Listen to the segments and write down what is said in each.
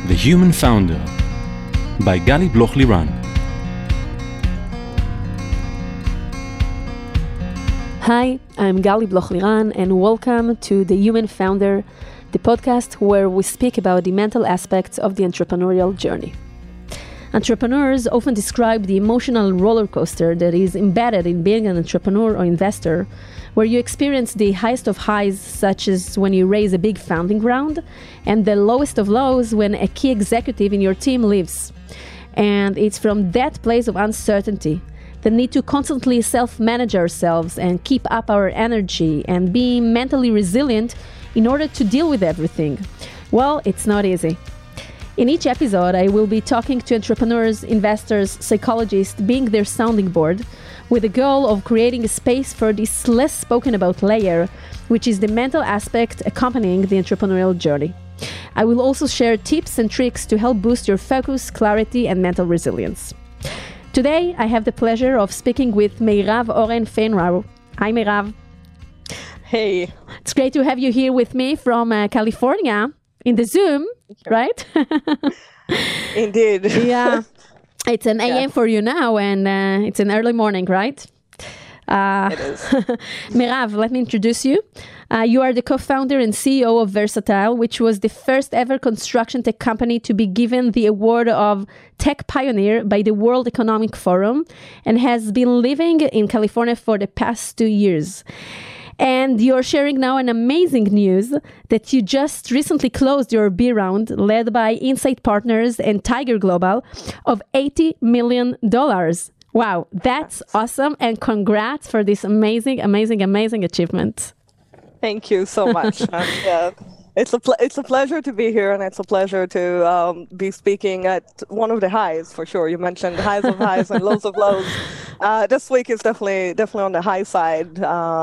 The Human Founder by Gali Bloch-Liran. Hi, I'm Gali Bloch-Liran and welcome to The Human Founder, the podcast where we speak about the mental aspects of the entrepreneurial journey. Entrepreneurs often describe the emotional roller coaster that is embedded in being an entrepreneur or investor, where you experience the highest of highs, such as when you raise a big funding round, and the lowest of lows when a key executive in your team leaves. And it's from that place of uncertainty, the need to constantly self-manage ourselves and keep up our energy and be mentally resilient in order to deal with everything. Well, it's not easy. In each episode, I will be talking to entrepreneurs, investors, psychologists, being their sounding board, with the goal of creating a space for this less spoken about layer, which is the mental aspect accompanying the entrepreneurial journey. I will also share tips and tricks to help boost your focus, clarity, and mental resilience. Today, I have the pleasure of speaking with Meirav Oren-Feinrau. Hi, Meirav. Hey. It's great to have you here with me from California in the Zoom, right? Indeed. Yeah. It's an AM for you now, and it's an early morning, right? It is. Meirav, let me introduce you. You are the co-founder and CEO of Versatile, which was the first ever construction tech company to be given the award of Tech Pioneer by the World Economic Forum, and has been living in California for the past 2 years. And you're sharing now an amazing news that you just recently closed your B round led by Insight Partners and Tiger Global of $80 million. Wow, that's awesome. And congrats for this amazing achievement. Thank you so much. It's a pleasure to be here, and it's a pleasure to be speaking at one of the highs, for sure. You mentioned highs of highs and lows of lows. This week is definitely on the high side.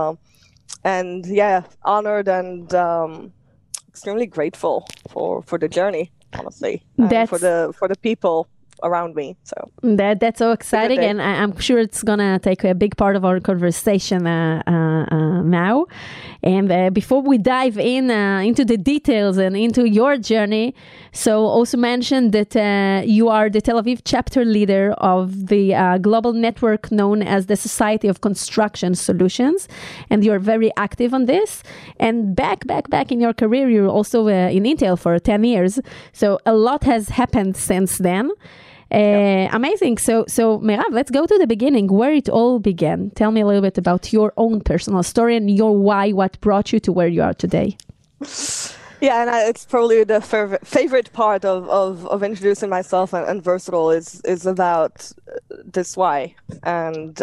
And yeah, honored and extremely grateful for the journey, honestly, and for the people around me. So that's so exciting, and I'm sure it's gonna take a big part of our conversation now. And before we dive in into the details and into your journey, so also mention that you are the Tel Aviv chapter leader of the global network known as the Society of Construction Solutions, and you're very active on this. And back in your career, you're also in Intel for 10 years. So a lot has happened since then. Amazing. So Meirav, let's go to the beginning, where it all began. Tell me a little bit about your own personal story and your why, what brought you to where you are today. Yeah, and it's probably the favorite part of introducing myself and Versatile is about this why. And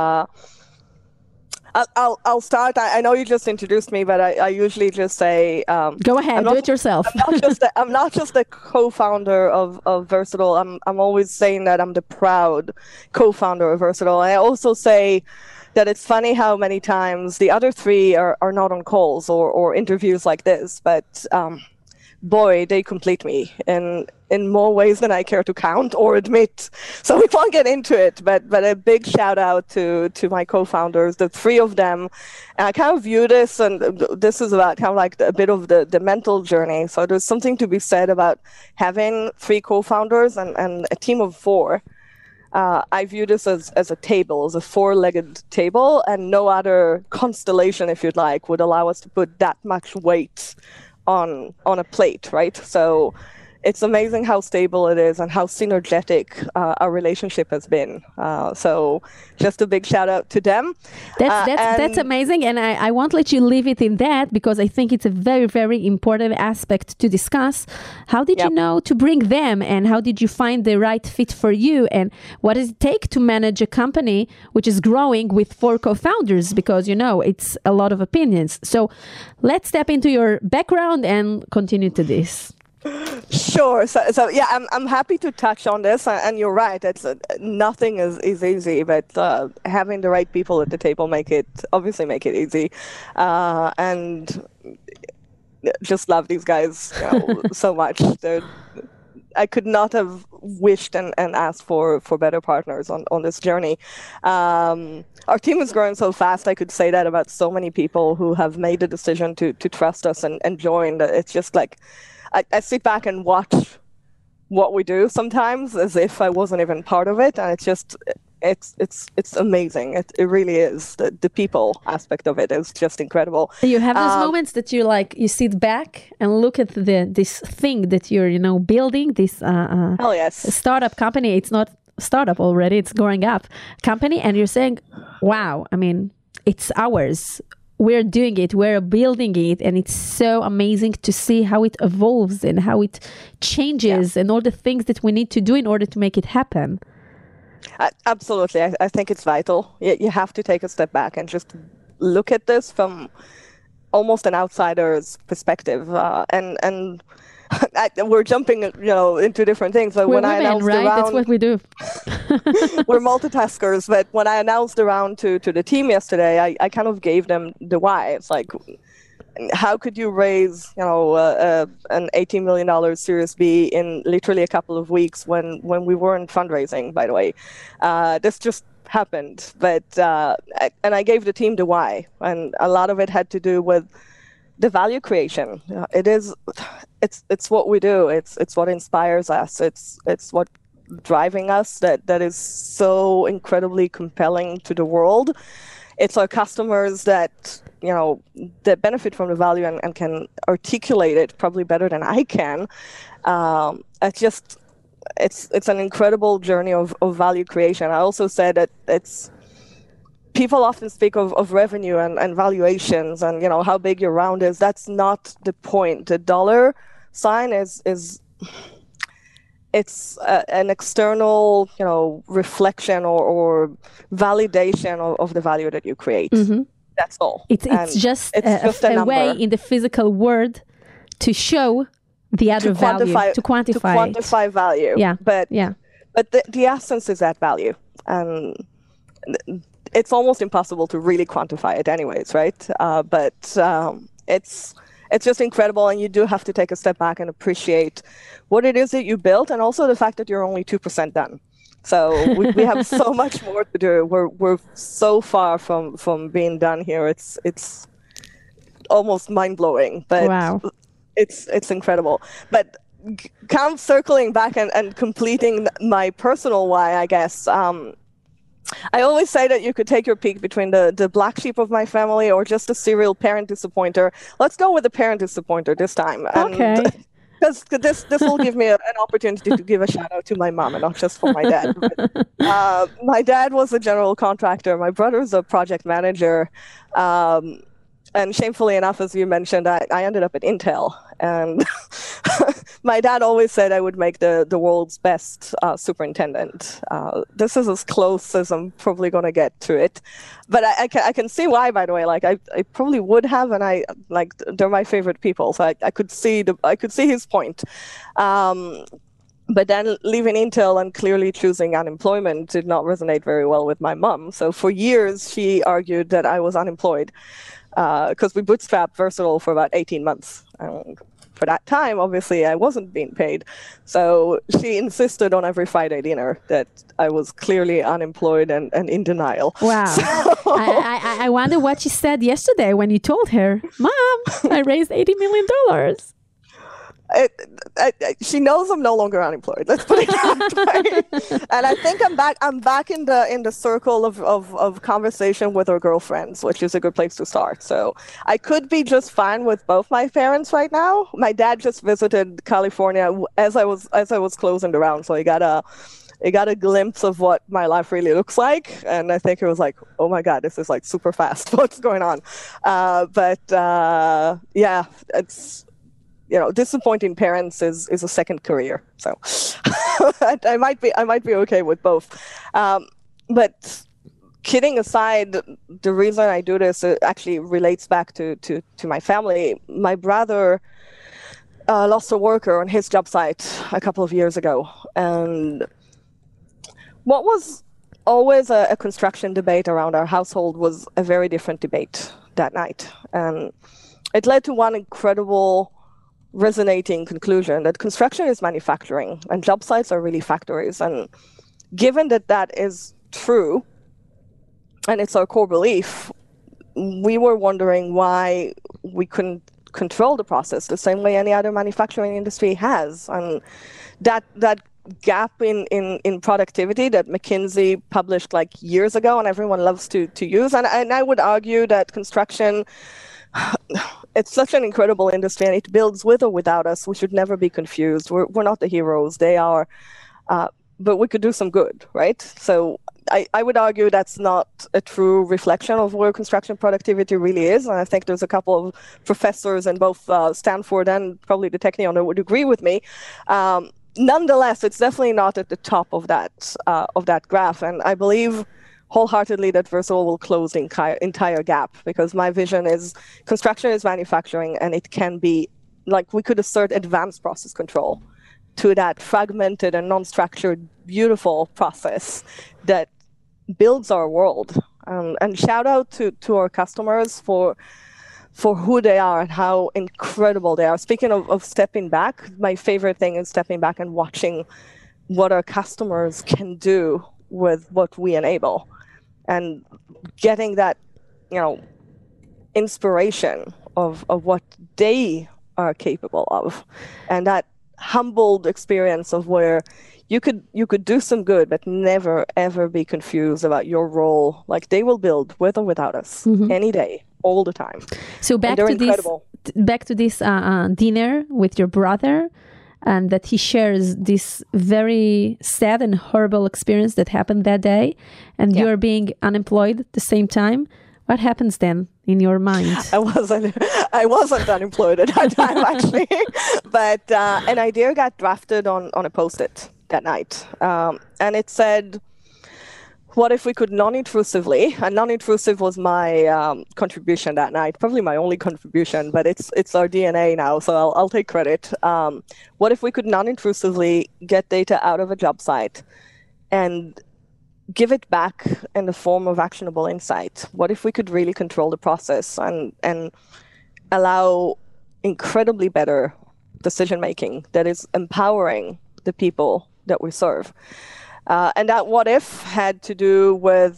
I'll start. I know you just introduced me, but I usually just say... Go ahead, do it yourself. I'm not just the co-founder of Versatile. I'm always saying that I'm the proud co-founder of Versatile. And I also say that it's funny how many times the other three are not on calls or interviews like this, but boy, they complete me in more ways than I care to count or admit. So we won't get into it, but a big shout out to my co-founders, the three of them. And I kind of view this, and this is about kind of like a bit of the mental journey. So there's something to be said about having three co-founders and a team of four. I view this as a table, as a four-legged table, and no other constellation, if you'd like, would allow us to put that much weight on a plate, right? So it's amazing how stable it is and how synergetic our relationship has been. So just a big shout out to them. That's amazing. And I won't let you leave it in that, because I think it's a very, very important aspect to discuss. How did you know to bring them, and how did you find the right fit for you? And what does it take to manage a company which is growing with four co-founders? Because, it's a lot of opinions. So let's step into your background and continue to this. Sure. So yeah, I'm happy to touch on this, and you're right. It's nothing is easy, but having the right people at the table make it easy, and just love these guys so much. I could not have wished and asked for better partners on this journey. Our team is growing so fast. I could say that about so many people who have made the decision to trust us and join. It's just like I sit back and watch what we do sometimes as if I wasn't even part of it, and it's amazing. It really is. The people aspect of it is just incredible. You have those moments that you sit back and look at this thing that you're building, this hell yes, startup company. It's not startup already, it's growing up company, and you're saying, wow, I mean, it's ours. We're doing it, we're building it, and it's so amazing to see how it evolves and how it changes and all the things that we need to do in order to make it happen. Absolutely. I think it's vital. You have to take a step back and just look at this from almost an outsider's perspective. And we're jumping, into different things. But we're when women, I announced right? the round, that's what we do. we're multitaskers. But when I announced the round to the team yesterday, I kind of gave them the why. It's like, how could you raise, an $18 million Series B in literally a couple of weeks when we weren't fundraising, by the way? This just happened. But and I gave the team the why, and a lot of it had to do with the value creation. It's what we do. It's what inspires us. It's what driving us that is so incredibly compelling to the world. It's our customers that that benefit from the value and can articulate it probably better than I can. It's an incredible journey of value creation. I also said that people often speak of revenue and valuations and how big your round is. That's not the point. The dollar sign is it's an external reflection or validation of the value that you create. Mm-hmm. That's all. It's just a way in the physical world to show the other value, to quantify value. Yeah. But the essence is that value, and it's almost impossible to really quantify it anyways, right? But it's just incredible, and you do have to take a step back and appreciate what it is that you built, and also the fact that you're only 2% done. So we have so much more to do. We're so far from being done here. It's almost mind blowing, but wow. It's incredible. But kind of circling back and completing my personal why, I guess. I always say that you could take your pick between the black sheep of my family or just a serial parent disappointer. Let's go with the parent disappointer this time. Okay. Because this will give me an opportunity to give a shout out to my mom and not just for my dad. But, my dad was a general contractor. My brother's a project manager. And shamefully enough, as you mentioned, I ended up at Intel. And my dad always said I would make the world's best superintendent. This is as close as I'm probably going to get to it. But I can see why, by the way. Like I probably would have, and they're my favorite people. So I could see his point. But then leaving Intel and clearly choosing unemployment did not resonate very well with my mom. So for years, she argued that I was unemployed. Because we bootstrapped Versatile for about 18 months. For that time, obviously, I wasn't being paid. So she insisted on every Friday dinner that I was clearly unemployed and in denial. Wow. So I wonder what she said yesterday when you told her, Mom, I raised $80 million. She knows I'm no longer unemployed. Let's put it that way. And I think I'm back in the circle of conversation with our girlfriends, which is a good place to start. So I could be just fine with both my parents right now. My dad just visited California as I was closing the round, so he got a glimpse of what my life really looks like, and I think it was like, oh my God, this is like super fast. What's going on? Yeah, it's. Disappointing parents is a second career. So I might be okay with both. But kidding aside, the reason I do this actually relates back to my family. My brother lost a worker on his job site a couple of years ago. And what was always a construction debate around our household was a very different debate that night. And it led to one incredible resonating conclusion that construction is manufacturing and job sites are really factories. And given that is true, and it's our core belief, we were wondering why we couldn't control the process the same way any other manufacturing industry has. And that gap in productivity that McKinsey published like years ago and everyone loves to use. And I would argue that construction, it's such an incredible industry and it builds with or without us. We should never be confused. We're not the heroes. They are, but we could do some good, right? So I would argue that's not a true reflection of where construction productivity really is. And I think there's a couple of professors in both Stanford and probably the Technion that would agree with me. Nonetheless, it's definitely not at the top of that graph. And I believe wholeheartedly that Versatile will close the entire gap, because my vision is construction is manufacturing, and it can be, like, we could assert advanced process control to that fragmented and non-structured, beautiful process that builds our world. And shout out to our customers for who they are and how incredible they are. Speaking of stepping back, my favorite thing is stepping back and watching what our customers can do with what we enable, and getting that, inspiration of what they are capable of, and that humbled experience of where you could do some good, but never ever be confused about your role. Like, they will build with or without us any day, all the time. So back to this dinner with your brother, and that he shares this very sad and horrible experience that happened that day, and you're being unemployed at the same time. What happens then in your mind? I wasn't unemployed at that time, actually, but an idea got drafted on a Post-it that night, and it said, what if we could non-intrusively, and non-intrusive was my contribution that night, probably my only contribution, but it's our DNA now, so I'll take credit. What if we could non-intrusively get data out of a job site and give it back in the form of actionable insight? What if we could really control the process and allow incredibly better decision-making that is empowering the people that we serve? And that what if had to do with,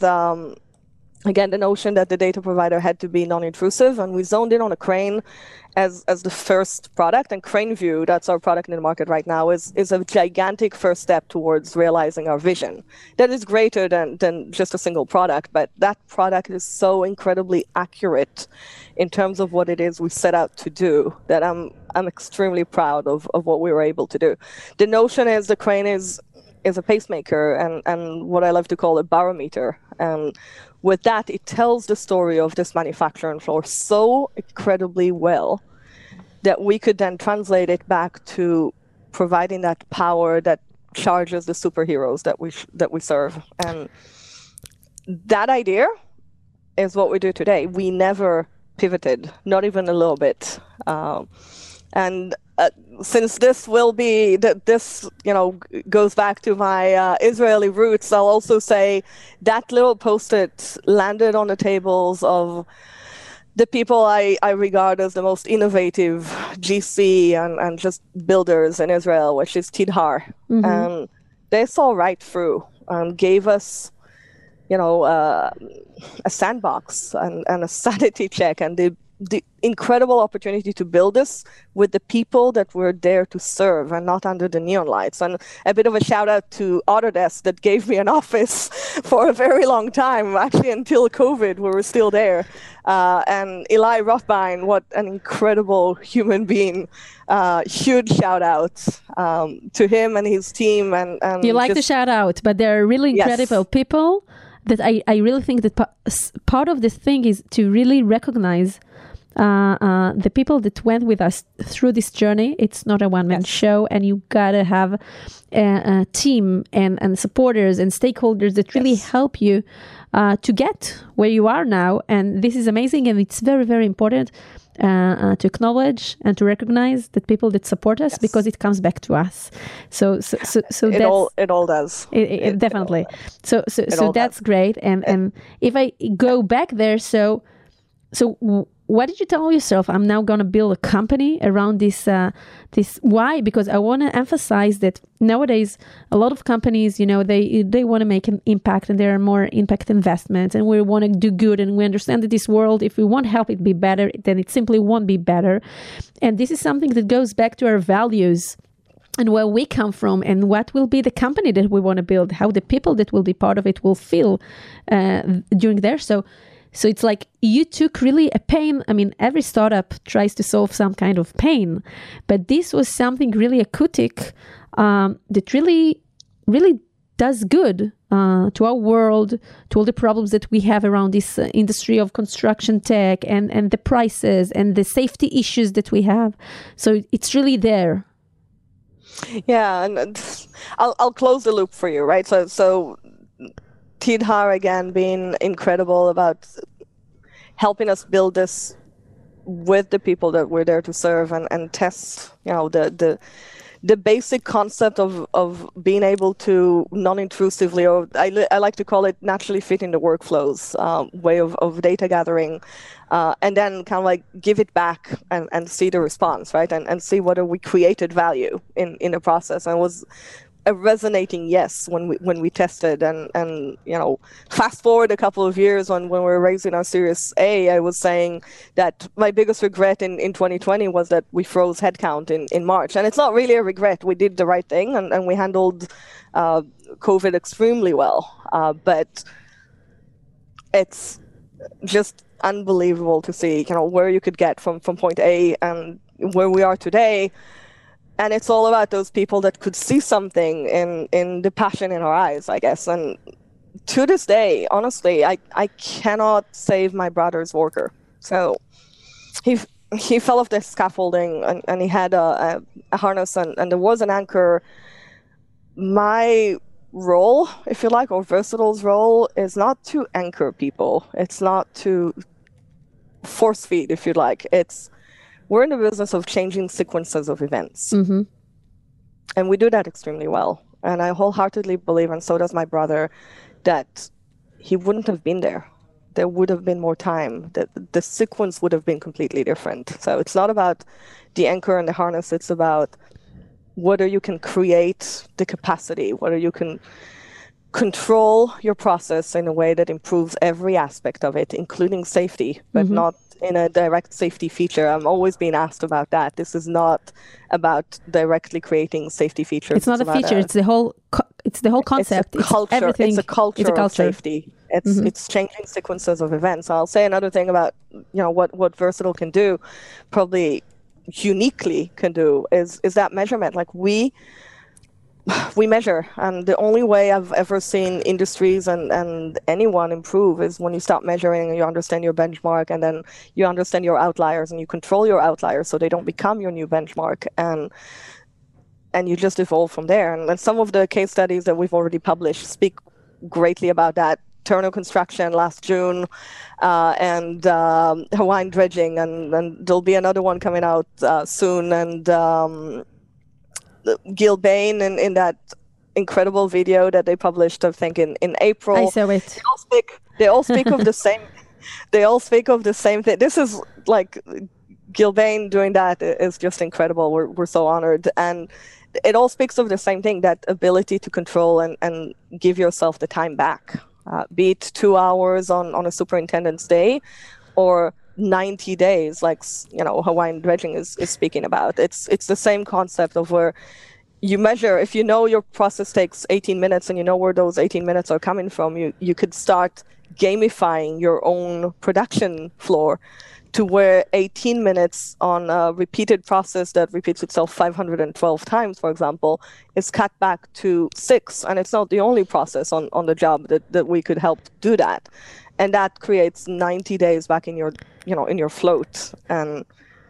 again, the notion that the data provider had to be non-intrusive, and we zoned in on a Crane as the first product. And CraneView, that's our product in the market right now, is a gigantic first step towards realizing our vision. That is greater than just a single product, but that product is so incredibly accurate in terms of what it is we set out to do that I'm extremely proud of what we were able to do. The notion is the Crane is a pacemaker and what I love to call a barometer. And with that, it tells the story of this manufacturing floor so incredibly well that we could then translate it back to providing that power that charges the superheroes that we serve. And that idea is what we do today. We never pivoted, not even a little bit. Since this will be this goes back to my Israeli roots, I'll also say that little Post-it landed on the tables of the people I regard as the most innovative GC and just builders in Israel, which is Tidhar. And they saw right through and gave us a sandbox and a sanity check, and the incredible opportunity to build this with the people that we're there to serve and not under the neon lights. And a bit of a shout out to Autodesk that gave me an office for a very long time, actually until COVID, we were still there. And Eli Rothbein, what an incredible human being. Huge shout out to him and his team. And you like the shout out, but they're really incredible people that I really think that part of this thing is to really recognize the people that went with us through this journey. It's not a one-man show, and you gotta have a team and supporters and stakeholders that really help you to get where you are now. And this is amazing, and it's very, very important to acknowledge and to recognize that people that support us, because it comes back to us. So it all does. It definitely. So that's great. And if I go back there, so what did you tell yourself? I'm now going to build a company around this. Why? Because I want to emphasize that nowadays, a lot of companies, they want to make an impact, and there are more impact investments, and we want to do good. And we understand that this world, if we want help it be better, then it simply won't be better. And this is something that goes back to our values and where we come from, and what will be the company that we want to build, how the people that will be part of it will feel during there. So it's like you took really a pain. I mean, every startup tries to solve some kind of pain, but this was something really acoustic that really, really does good to our world, to all the problems that we have around this industry of construction tech and the prices and the safety issues that we have. So it's really there. Yeah, and I'll close the loop for you, right? So Tidhar, again, being incredible about helping us build this with the people that we're there to serve and test, the basic concept of being able to non-intrusively, or I like to call it naturally fitting the workflows way of data gathering, and then kind of like give it back and see the response, right? And see whether we created value in the process. And it was a resonating yes when we tested, and fast forward a couple of years when we were raising our Series A, I was saying that my biggest regret in 2020 was that we froze headcount in March. And it's not really a regret. We did the right thing, and we handled COVID extremely well. But it's just unbelievable to see where you could get from point A and where we are today. And it's all about those people that could see something in the passion in our eyes, I guess. And to this day, honestly, I cannot save my brother's worker. So he fell off the scaffolding, and he had a harness, and there was an anchor. My role, if you like, or Versatile's role, is not to anchor people. It's not to force feed, if you like. We're in the business of changing sequences of events. Mm-hmm. And we do that extremely well. And I wholeheartedly believe, and so does my brother, that he wouldn't have been there. There would have been more time. The sequence would have been completely different. So it's not about the anchor and the harness. It's about whether you can create the capacity, whether you can control your process in a way that improves every aspect of it, including safety, but not in a direct safety feature. I'm always being asked about that. This is not about directly creating safety features. It's not a feature. It's the whole concept. It's a culture. Everything. It's a culture of safety. It's changing sequences of events. I'll say another thing about what Versatile can do, probably uniquely can do, is that measurement. Like we measure, and the only way I've ever seen industries and anyone improve is when you start measuring and you understand your benchmark, and then you understand your outliers and you control your outliers so they don't become your new benchmark, and you just evolve from there. And some of the case studies that we've already published speak greatly about that. Turner Construction last June, and Hawaiian Dredging, and there'll be another one coming out soon, and Gil Bain in that incredible video that they published, I think in April. I saw it. They all speak of the same. They all speak of the same thing. This is like Gil Bain doing that is just incredible. We're so honored, and it all speaks of the same thing: that ability to control and give yourself the time back, be it 2 hours on a superintendent's day, or 90 days, like Hawaiian Dredging is speaking about. It's the same concept of where you measure. If you know your process takes 18 minutes and you know where those 18 minutes are coming from, you could start gamifying your own production floor to where 18 minutes on a repeated process that repeats itself 512 times, for example, is cut back to 6. And it's not the only process on the job that we could help do that. And that creates 90 days back in your, in your float. And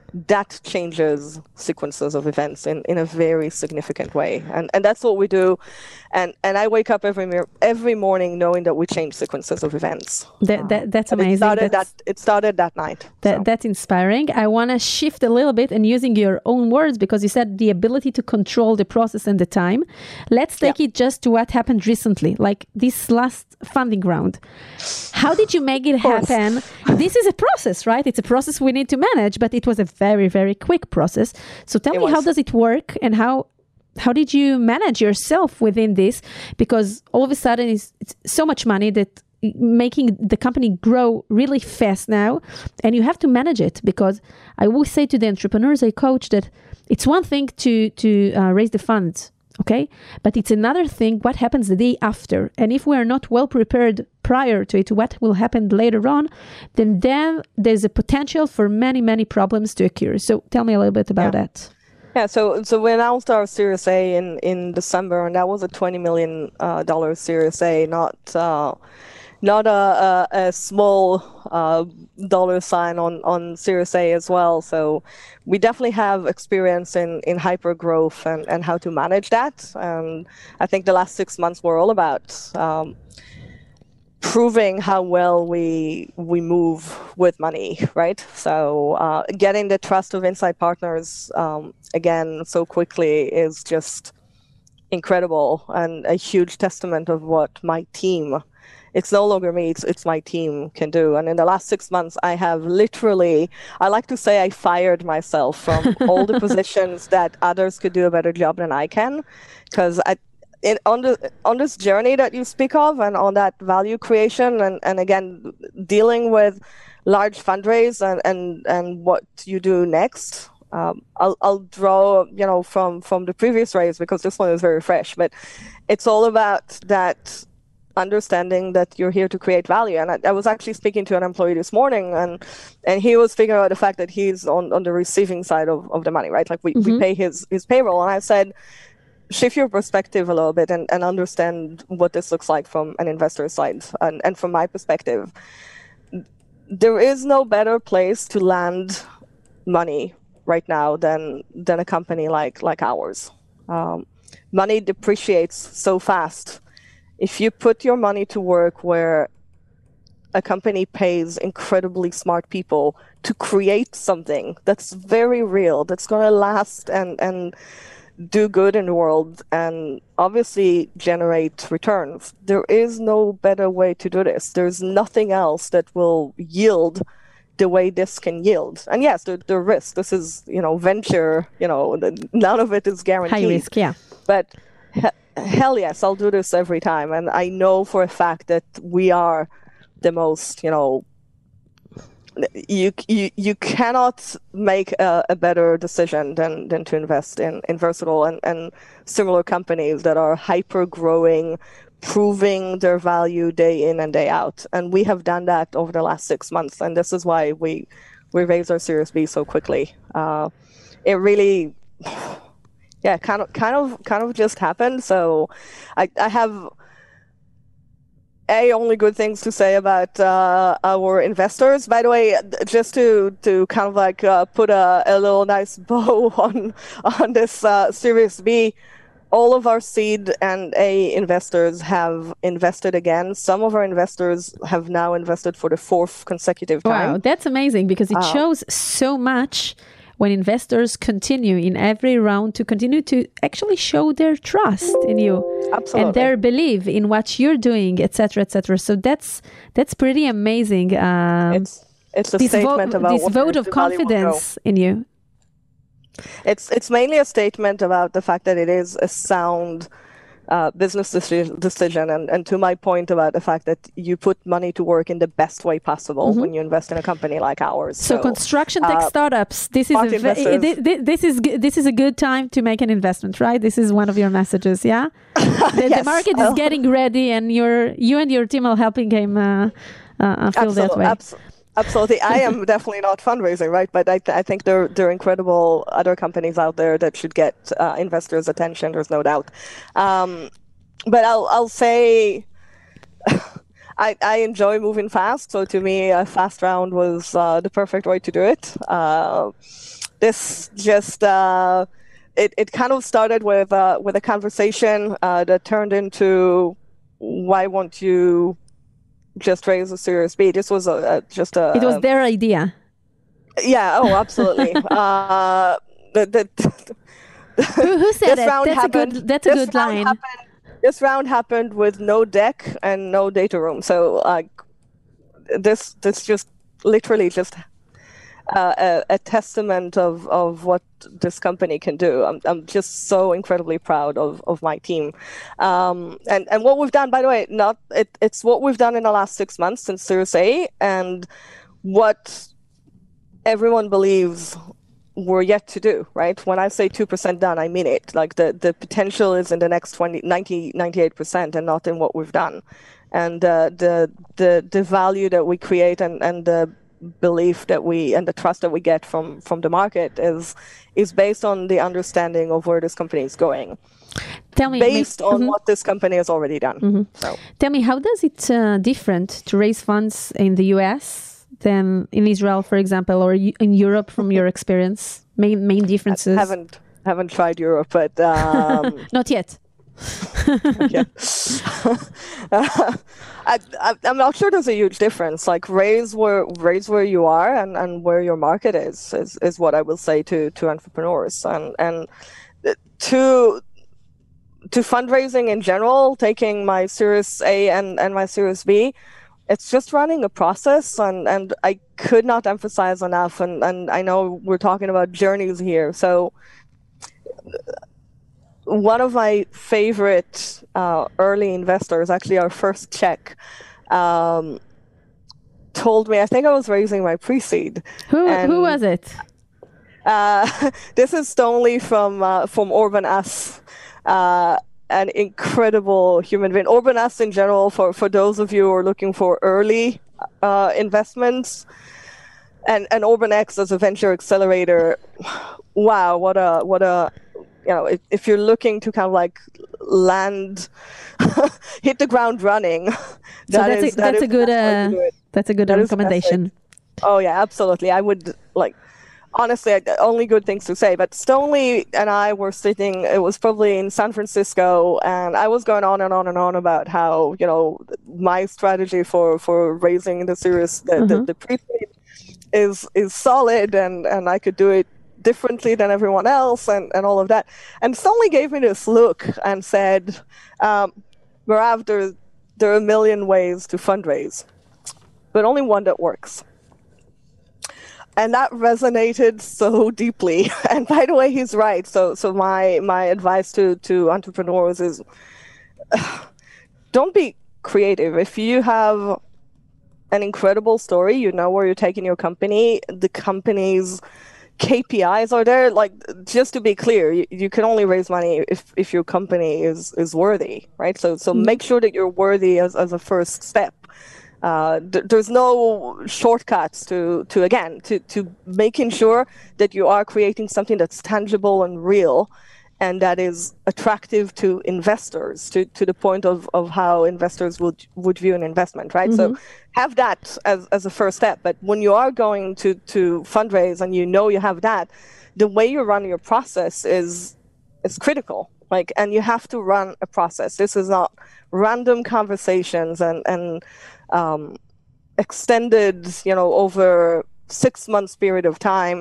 that changes sequences of events in a very significant way. And that's what we do. And I wake up every morning knowing that we change sequences of events. That's amazing. It started that night. That's inspiring. I want to shift a little bit and using your own words, because you said the ability to control the process and the time. Let's take it just to what happened recently, like this last funding round. How did you make it happen? This is a process, right? It's a process we need to manage, but it was a very, very quick process. So tell me, how does it work, and how did you manage yourself within this? Because all of a sudden it's so much money that making the company grow really fast now, and you have to manage it. Because I always say to the entrepreneurs I coach that it's one thing to raise the funds, okay? But it's another thing what happens the day after. And if we are not well prepared prior to it, what will happen later on, then there's a potential for many, many problems to occur. So tell me a little bit about that. Yeah, so we announced our Series A in December, and that was a $20 million Series A, not a small dollar sign on Series A as well. So we definitely have experience in hyper growth and how to manage that. And I think the last 6 months were all about proving how well we move with money, right? So getting the trust of inside partners again so quickly is just incredible, and a huge testament of what my team, it's no longer me, it's my team, can do. And in the last 6 months, I have literally, I like to say I fired myself from all the positions that others could do a better job than I can, because on this journey that you speak of, and on that value creation, and again dealing with large fundraise and what you do next. I'll draw from the previous raise, because this one is very fresh, but it's all about that understanding that you're here to create value. And I was actually speaking to an employee this morning, and he was figuring out the fact that he's on the receiving side of the money, right? Like we pay his payroll, and I said, shift your perspective a little bit and understand what this looks like from an investor side. And from my perspective, there is no better place to land money right now than a company like ours. Money depreciates so fast. If you put your money to work where a company pays incredibly smart people to create something that's very real, that's going to last and do good in the world, and obviously generate returns, there is no better way to do this. There's nothing else that will yield the way this can yield. And yes, the risk, this is, venture, none of it is guaranteed. High risk, yeah. But hell yes, I'll do this every time. And I know for a fact that we are the most, you cannot make a better decision than to invest in Versatile and similar companies that are hyper growing, proving their value day in and day out. And we have done that over the last 6 months. And this is why we raised our Series B so quickly. It really, kind of just happened. So I have only good things to say about our investors. By the way, just to kind of like put a little nice bow on this Series B, all of our seed and A investors have invested again. Some of our investors have now invested for the 4th consecutive time. Wow, that's amazing, because it shows so much when investors continue in every round to continue to actually show their trust in you. Absolutely. And their belief in what you're doing, etc., etc. So that's pretty amazing. It's a statement about this vote of confidence in you. It's mainly a statement about the fact that it is a sound business decision, and to my point about the fact that you put money to work in the best way possible when you invest in a company like ours. So construction tech startups, this is a good time to make an investment, right? This is one of your messages, yeah? The market is getting ready, and you and your team are helping him feel that way. Absolutely. I am definitely not fundraising, right? But I think there are incredible other companies out there that should get investors' attention. There's no doubt. But I'll say, I enjoy moving fast. So to me, a fast round was the perfect way to do it. This just it kind of started with a conversation that turned into, why won't you just raise a Series B? This was just a. It was their idea. Yeah. Oh, absolutely. Who said it? That's a good line. This round happened with no deck and no data room. So this just literally just a testament of what this company can do. I'm just so incredibly proud of my team. And what we've done, by the way, it's what we've done in the last 6 months since Series A, and what everyone believes we're yet to do, right? When I say 2% done, I mean it. Like the potential is in the next 98% and not in what we've done. And the value that we create and the belief that and the trust that we get from the market is based on the understanding of where this company is going. Tell me, based on what this company has already done. Mm-hmm. So. Tell me, how does it different to raise funds in the US than in Israel, for example, or in Europe from your experience? Main differences? I haven't tried Europe, but not yet. I'm not sure there's a huge difference. Like raise where you are and where your market is what I will say to entrepreneurs, and to fundraising in general, taking my Series A and my Series B. It's just running a process, and I could not emphasize enough, and I know we're talking about journeys here. So one of my favorite early investors, actually our first check, told me, I think I was raising my pre-seed. Who was it? This is Stonely from Urban Us. An incredible human being. Urban Us in general, for those of you who are looking for early investments, and Urban X as a venture accelerator. Wow, what a if you're looking to kind of like hit the ground running, that's a good recommendation. Oh yeah, absolutely. I would honestly, only good things to say. But Stonely and I were sitting, it was probably in San Francisco, and I was going on and on and on about how, my strategy for raising the series, the pre-seed is solid, and I could do it differently than everyone else, and all of that. And Stonely gave me this look and said, Merav, there are a million ways to fundraise, but only one that works. And that resonated so deeply. And by the way, he's right. So my advice to entrepreneurs is, don't be creative. If you have an incredible story, you know where you're taking your company, the company's KPIs are there. Like, just to be clear, you can only raise money if your company is worthy, right? So make sure that you're worthy as a first step. There's no shortcuts to making sure that you are creating something that's tangible and real, and that is attractive to investors, to the point of how investors would view an investment, right? Mm-hmm. So have that as a first step. But when you are going to fundraise and you have that, the way you run your process is critical. And you have to run a process. This is not random conversations and extended, over 6 months period of time.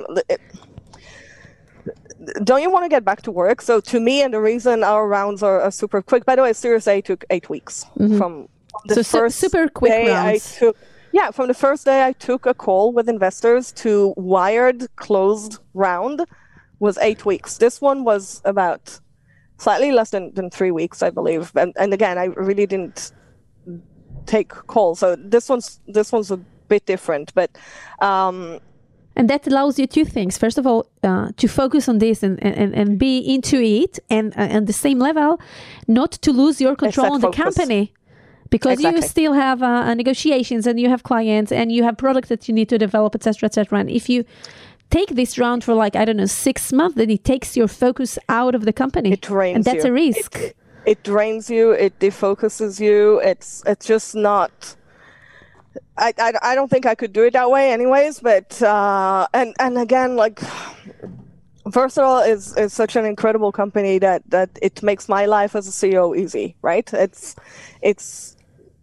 Don't you want to get back to work? So to me, and the reason our rounds are super quick, by the way, Series A took 8 weeks. Mm-hmm. From the first super quick day rounds. From the first day I took a call with investors to wired closed round was 8 weeks. This one was about slightly less than 3 weeks, I believe. And again, I really didn't take calls. So this one's a bit different, but and that allows you two things. First of all, to focus on this and be into it, and at the same level, not to lose your control on the company, because you still have negotiations, and you have clients, and you have products that you need to develop, etc., etc. And if you take this round for 6 months, then it takes your focus out of the company. It drains and that's you. A risk. It drains you. It defocuses you. It's just not I don't think I could do it that way anyways, but and again, like Versatile is such an incredible company that it makes my life as a CEO easy, right? It's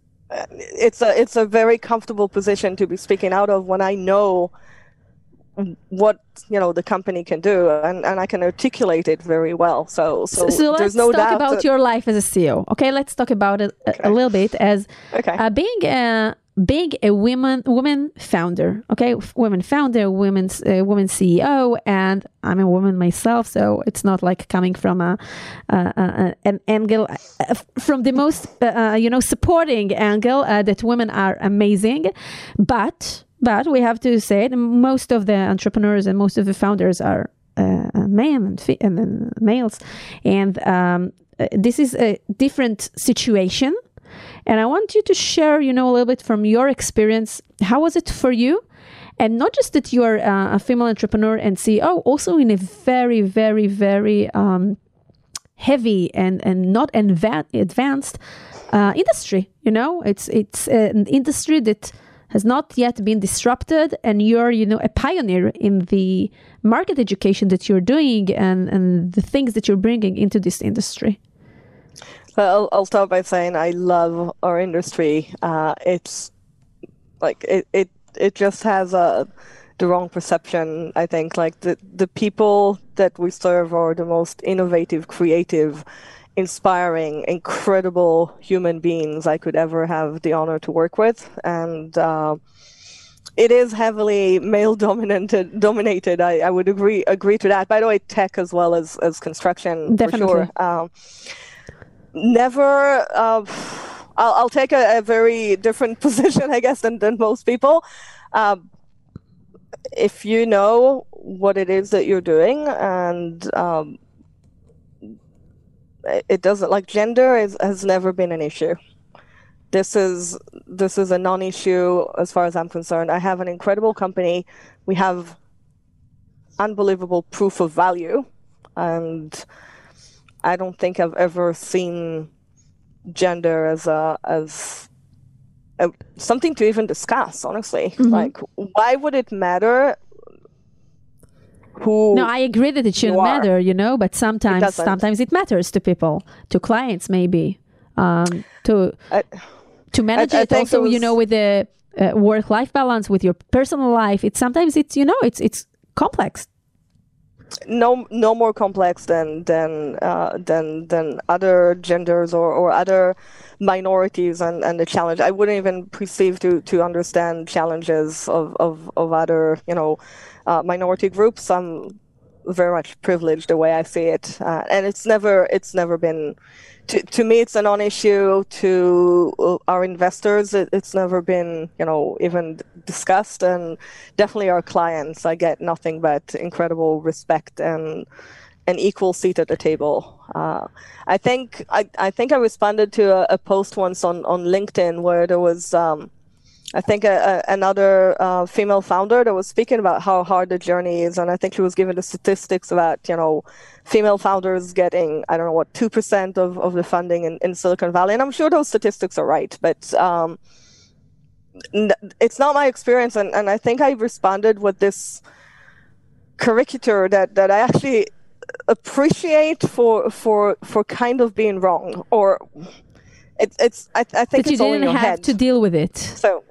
a very comfortable position to be speaking out of when I know what the company can do, and I can articulate it very well. So let's there's no doubt talk about your life as a CEO. Okay, let's talk about it a little bit as being a woman founder. Okay, women founder, women CEO, and I'm a woman myself, so it's not like coming from an angle from the most supporting angle that women are amazing, but we have to say that most of the entrepreneurs and most of the founders are men and males, and this is a different situation. And I want you to share, a little bit from your experience. How was it for you? And not just that you're a female entrepreneur and CEO, also in a very, very, very heavy and not advanced industry. It's an industry that has not yet been disrupted, and you're, a pioneer in the market education that you're doing and the things that you're bringing into this industry. I'll start by saying I love our industry. It's like it just has the wrong perception. I think like the people that we serve are the most innovative, creative, inspiring, incredible human beings I could ever have the honor to work with, and it is heavily male dominated. I would agree to that. By the way, tech as well as construction. Definitely. For sure. Never. I'll take a very different position, I guess, than most people. If you know what it is that you're doing, and it doesn't, like, gender has never been an issue. This is a non-issue as far as I'm concerned. I have an incredible company. We have unbelievable proof of value, and I don't think I've ever seen gender as something to even discuss, honestly. Mm-hmm. Like, why would it matter who? No, I agree that it shouldn't matter, but sometimes it matters to people, to clients maybe, to manage it also, with the work-life balance, with your personal life. It's complex. No more complex than other genders or other minorities and the challenge. I wouldn't even perceive to understand challenges of other minority groups. I'm very much privileged the way I see it, and it's never been. To me, it's a non-issue. To our investors, it's never been, even discussed, and definitely our clients. I get nothing but incredible respect and an equal seat at the table. I think I responded to a post once on LinkedIn where there was, I think another female founder that was speaking about how hard the journey is, and I think she was given the statistics about female founders getting 2% of the funding in Silicon Valley, and I'm sure those statistics are right, but it's not my experience, and I think I responded with this caricature that I actually appreciate for kind of being wrong, or it's I think it's all in your head. But you didn't have to deal with it. So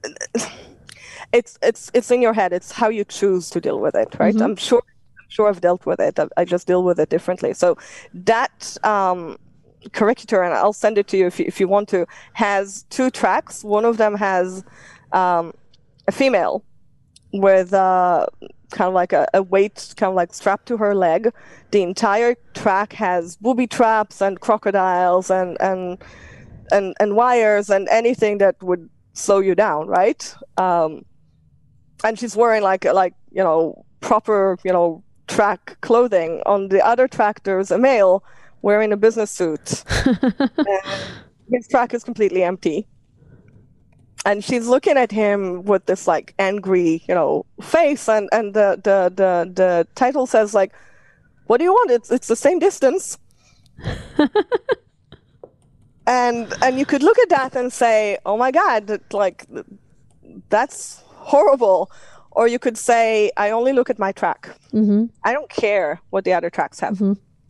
it's in your head. It's how you choose to deal with it, right? Mm-hmm. I'm sure I've dealt with it. I just deal with it differently. So that caricature, and I'll send it to you if you want to, has two tracks. One of them has a female with kind of like a weight kind of like strapped to her leg. The entire track has booby traps and crocodiles and wires and anything that would slow you down, right? And she's wearing like proper track clothing. On the other track, there's a male wearing a business suit. And his track is completely empty. And she's looking at him with this like angry, face, and the title says like, "What do you want? It's the same distance." And you could look at that and say, "Oh my God, like that's horrible. Or you could say, I only look at my track. I don't care what the other tracks have.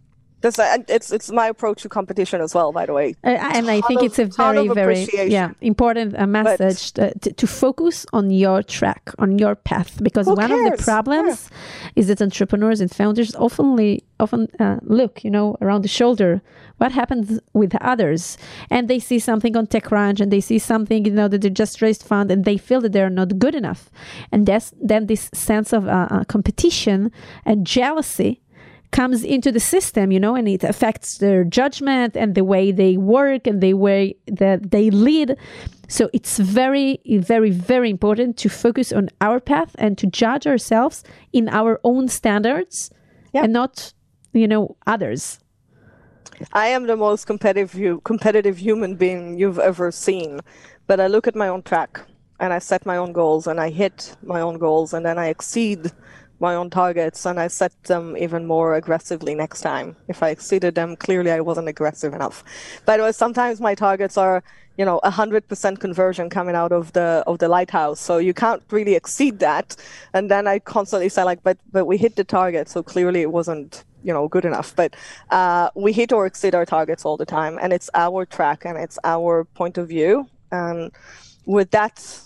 It's my approach to competition as well, by the way. And I think it's a very, very important message to focus on your track, on your path. Because one of the problems is that entrepreneurs and founders often look, around the shoulder. What happens with others? And they see something on TechCrunch and they see something, that they just raised fund and they feel that they're not good enough. And then this sense of competition and jealousy comes into the system, and it affects their judgment and the way they work and the way that they lead. So it's very, very, very important to focus on our path and to judge ourselves in our own standards and not, others. I am the most competitive human being you've ever seen, but I look at my own track and I set my own goals and I hit my own goals and then I exceed my own targets and I set them even more aggressively next time. If I exceeded them, clearly I wasn't aggressive enough. By the way, sometimes my targets are, 100% conversion coming out of the lighthouse. So you can't really exceed that. And then I constantly say but we hit the target. So clearly it wasn't, good enough. But we hit or exceed our targets all the time. And it's our track and it's our point of view. And with that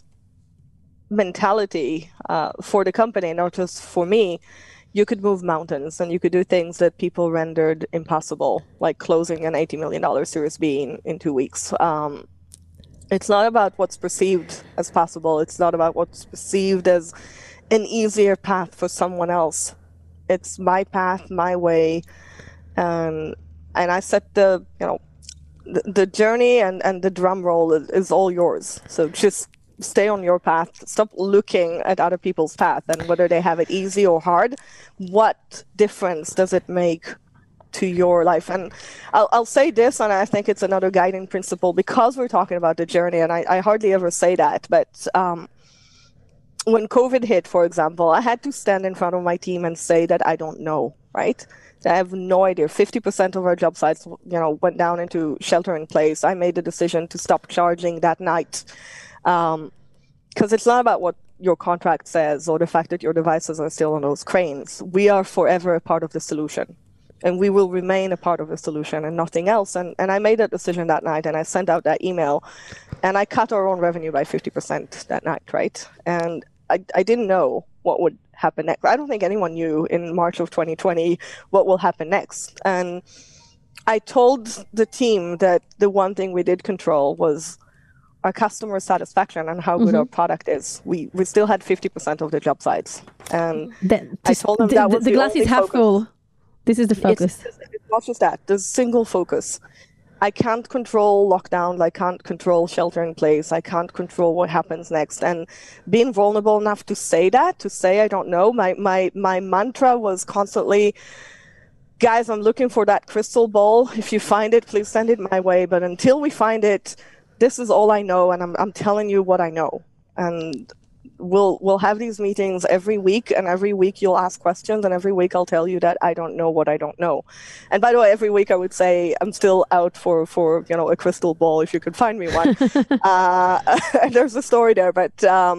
mentality for the company, not just for me, you could move mountains and you could do things that people rendered impossible, like closing an $80 million Series B in 2 weeks. It's not about what's perceived as possible. It's not about what's perceived as an easier path for someone else. It's my path, my way, and I set the journey and the drum roll is all yours. So just stay on your path. Stop looking at other people's path and whether they have it easy or hard. What difference does it make to your life? And I'll say this, and I think it's another guiding principle because we're talking about the journey, and I hardly ever say that, but when COVID hit, for example, I had to stand in front of my team and say that I don't know, right? I have no idea. 50% of our job sites, went down into shelter in place. I made the decision to stop charging that night. Because it's not about what your contract says or the fact that your devices are still on those cranes. We are forever a part of the solution, and we will remain a part of the solution and nothing else. And I made that decision that night, and I sent out that email, and I cut our own revenue by 50% that night, right? And I didn't know what would happen next. I don't think anyone knew in March of 2020 what will happen next. And I told the team that the one thing we did control was our customer satisfaction and how good our product is. We still had 50% of the job sites. And I told them that was the glass is half full. This is the focus. It's not just that. There's single focus. I can't control lockdown. I can't control shelter in place. I can't control what happens next. And being vulnerable enough to say I don't know. My mantra was constantly, guys, I'm looking for that crystal ball. If you find it, please send it my way. But until we find it, this is all I know, and I'm telling you what I know. And we'll have these meetings every week, and every week you'll ask questions, and every week I'll tell you that I don't know what I don't know. And by the way, every week I would say I'm still out for a crystal ball if you could find me one. And there's a story there, but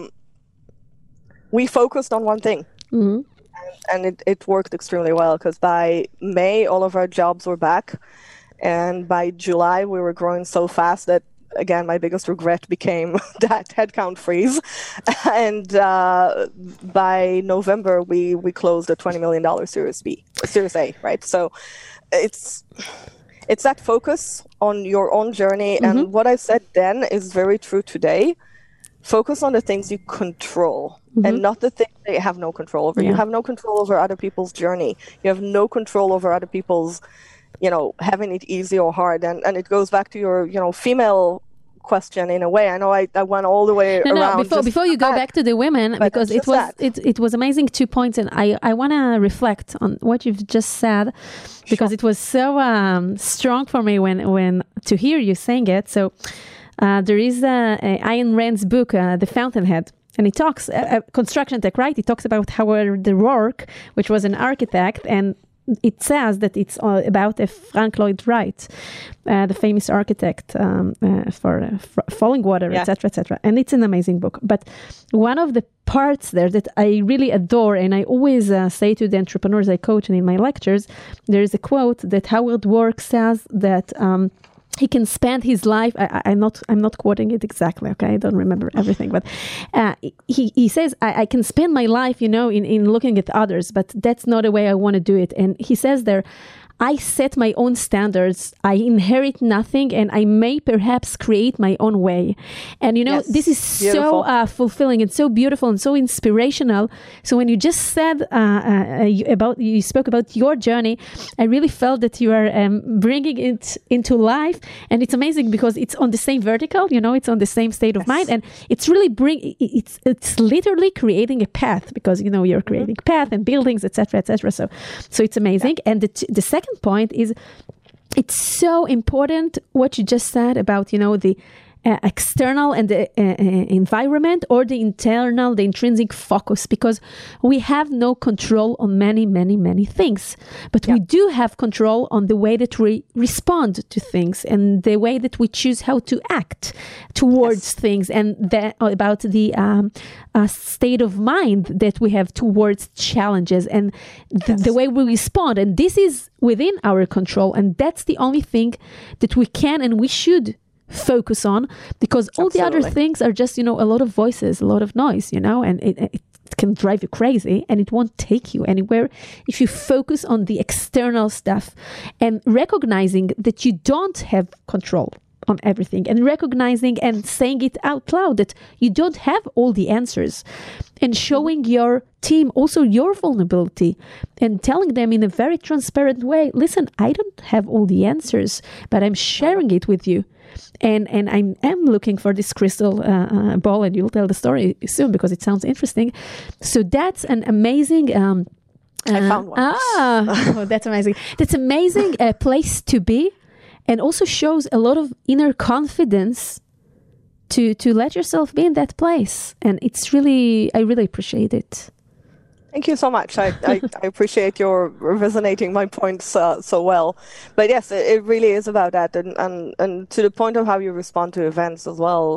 we focused on one thing. And it worked extremely well, because by May, all of our jobs were back. And by July, we were growing so fast that, again, my biggest regret became that headcount freeze. And by November, we closed a $20 million Series A, right? So it's that focus on your own journey. And what I said then is very true today. Focus on the things you control and not the things that you have no control over. You have no control over other people's journey. You have no control over other people's having it easy or hard. And it goes back to your, female question in a way. I know I went all the way around. Before you go back to the women, because it was amazing 2 points. And I want to reflect on what you've just said, because it was so strong for me when to hear you saying it. So there is Ayn Rand's book, The Fountainhead. And it talks construction tech, right? It talks about how the Rourke, which was an architect, and it says that it's about Frank Lloyd Wright, the famous architect for Falling Water, etc., etc. And it's an amazing book. But one of the parts there that I really adore, and I always say to the entrepreneurs I coach and in my lectures, there is a quote that Howard Work says that he can spend his life. I'm not quoting it exactly. Okay, I don't remember everything, but he says I can spend my life, in looking at others, but that's not the way I want to do it. And he says there, I set my own standards. I inherit nothing, and I may perhaps create my own way. And Yes, this is beautiful. so fulfilling and so beautiful and so inspirational. So when you just said you spoke about your journey, I really felt that you are bringing it into life, and it's amazing because it's on the same vertical. It's on the same state of mind, and it's really it's literally creating a path because you're creating path and buildings, etc., etc. So it's amazing. And the second point is it's so important what you just said about the external and the environment, or the internal, the intrinsic focus, because we have no control on many, many, many things, but we do have control on the way that we respond to things and the way that we choose how to act towards things, and about the state of mind that we have towards challenges, and the way we respond. And this is within our control, and that's the only thing that we can and we should focus on, because all the other things are just a lot of voices, a lot of noise, and it can drive you crazy, and it won't take you anywhere if you focus on the external stuff, and recognizing that you don't have control on everything, and recognizing and saying it out loud that you don't have all the answers, and showing your team also your vulnerability, and telling them in a very transparent way, listen, I don't have all the answers, but I'm sharing it with you. And I'm looking for this crystal ball, and you'll tell the story soon because it sounds interesting. So that's an amazing... I found one. That's amazing. That's amazing place to be, and also shows a lot of inner confidence to let yourself be in that place. And it's really, I really appreciate it. Thank you so much. I appreciate your resonating my points so well. But yes, it really is about that. And to the point of how you respond to events as well,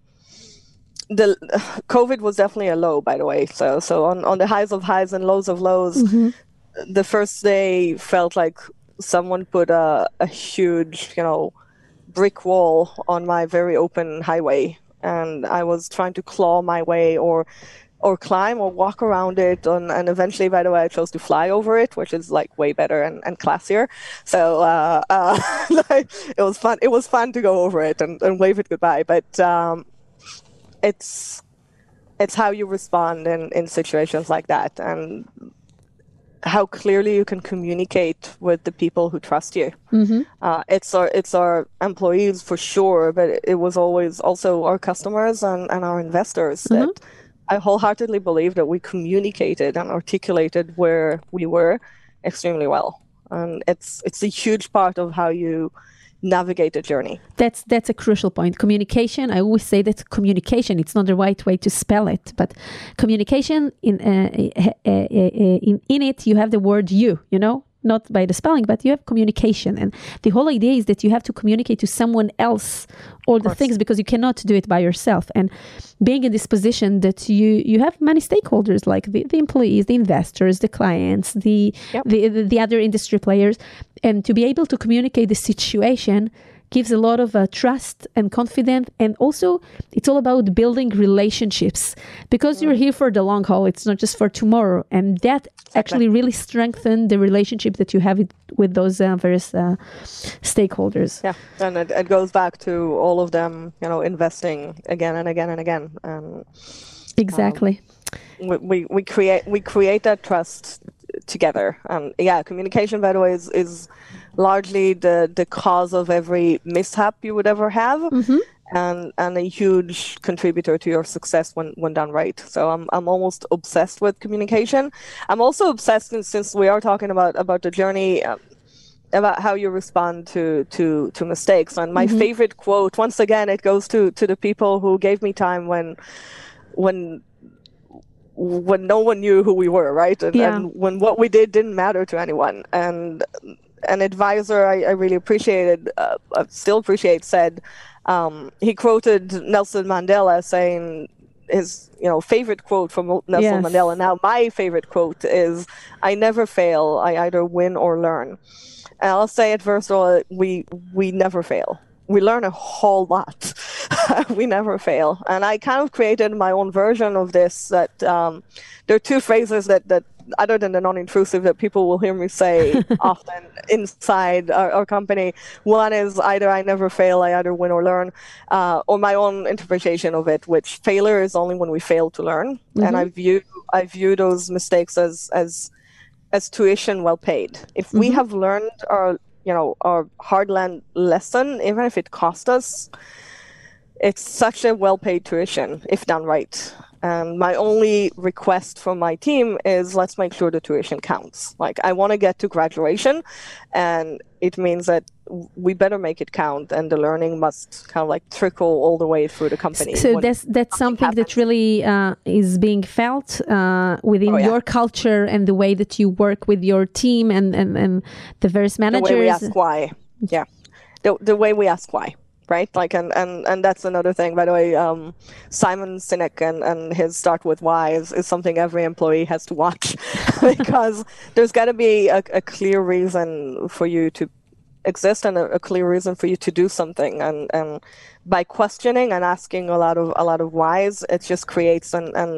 the COVID was definitely a low, by the way. So on the highs of highs and lows of lows, the first day felt like someone put a huge, brick wall on my very open highway. And I was trying to claw my way or climb or walk around it, and eventually, by the way, I chose to fly over it, which is like way better and classier. So it was fun. It was fun to go over it and wave it goodbye. But it's how you respond in situations like that, and how clearly you can communicate with the people who trust you. It's our employees for sure, but it was always also our customers and our investors that I wholeheartedly believe that we communicated and articulated where we were extremely well. And it's a huge part of how you navigate a journey. That's a crucial point. Communication, I always say that communication, it's not the right way to spell it, but communication, in it, you have the word you, not by the spelling, but you have communication. And the whole idea is that you have to communicate to someone else all the things, because you cannot do it by yourself. And being in this position that you have many stakeholders, like the employees, the investors, the clients, the other industry players, and to be able to communicate the situation gives a lot of trust and confidence. And also, it's all about building relationships, because you're here for the long haul. It's not just for tomorrow. And that actually really strengthens the relationship that you have with those various stakeholders. Yeah, and it goes back to all of them, investing again and again and again. Exactly. We create that trust together. And communication, by the way, is largely the cause of every mishap you would ever have, and a huge contributor to your success when done right. So I'm almost obsessed with communication. I'm also obsessed, since we are talking about the journey, about how you respond to mistakes. And my favorite quote, once again, it goes to the people who gave me time when when no one knew who we were, right? And when what we did didn't matter to anyone. And an advisor I really appreciated, still appreciate, said, he quoted Nelson Mandela saying his favorite quote from Nelson Mandela. Now my favorite quote is, "I never fail. I either win or learn." And I'll say it first of all, we never fail. We learn a whole lot. We never fail. And I kind of created my own version of this, that there are two phrases that other than the non-intrusive, that people will hear me say often inside our company. One is either I never fail, I either win or learn, or my own interpretation of it, which failure is only when we fail to learn. And I view those mistakes as tuition well paid. If we have learned our hard lesson, even if it cost us, it's such a well-paid tuition if done right. And my only request from my team is, let's make sure the tuition counts. Like, I want to get to graduation, and it means that we better make it count, and the learning must kind of like trickle all the way through the company. So that's something that really is being felt within your culture and the way that you work with your team and the various managers. The way we ask why. Yeah. The way we ask why. Right, like, and that's another thing, by the way. Simon Sinek and his Start With Why is something every employee has to watch, because there's got to be a clear reason for you to exist and a clear reason for you to do something. And by questioning and asking a lot of whys, it just creates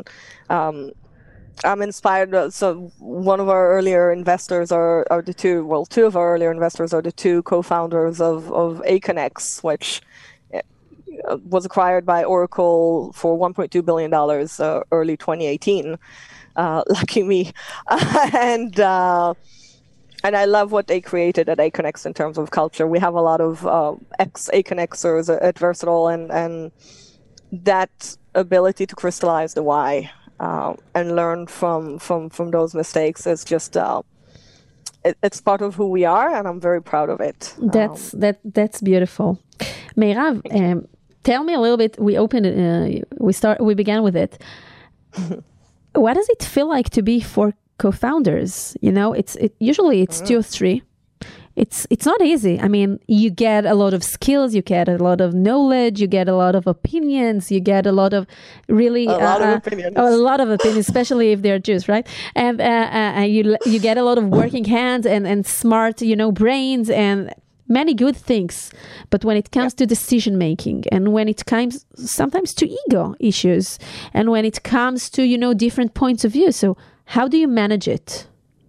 I'm inspired. So one of our earlier investors are two of our earlier investors are the two co-founders of Aconex, which was acquired by Oracle for $1.2 billion early 2018. Lucky me. And I love what they created at Aconex in terms of culture. We have a lot of ex-Aconexers at Versatile, and that ability to crystallize the why and learn from those mistakes is just it's part of who we are, and I'm very proud of it. That's beautiful. Meirav, tell me a little bit. We began with it. What does it feel like to be four co-founders? Usually it's two or three. It's not easy. I mean, you get a lot of skills, you get a lot of knowledge, you get a lot of opinions, you get a lot of really a lot of opinions, especially if they're Jews, right? And you get a lot of working hands and smart, brains and many good things. But when it comes to decision making, and when it comes sometimes to ego issues, and when it comes to different points of view, so how do you manage it?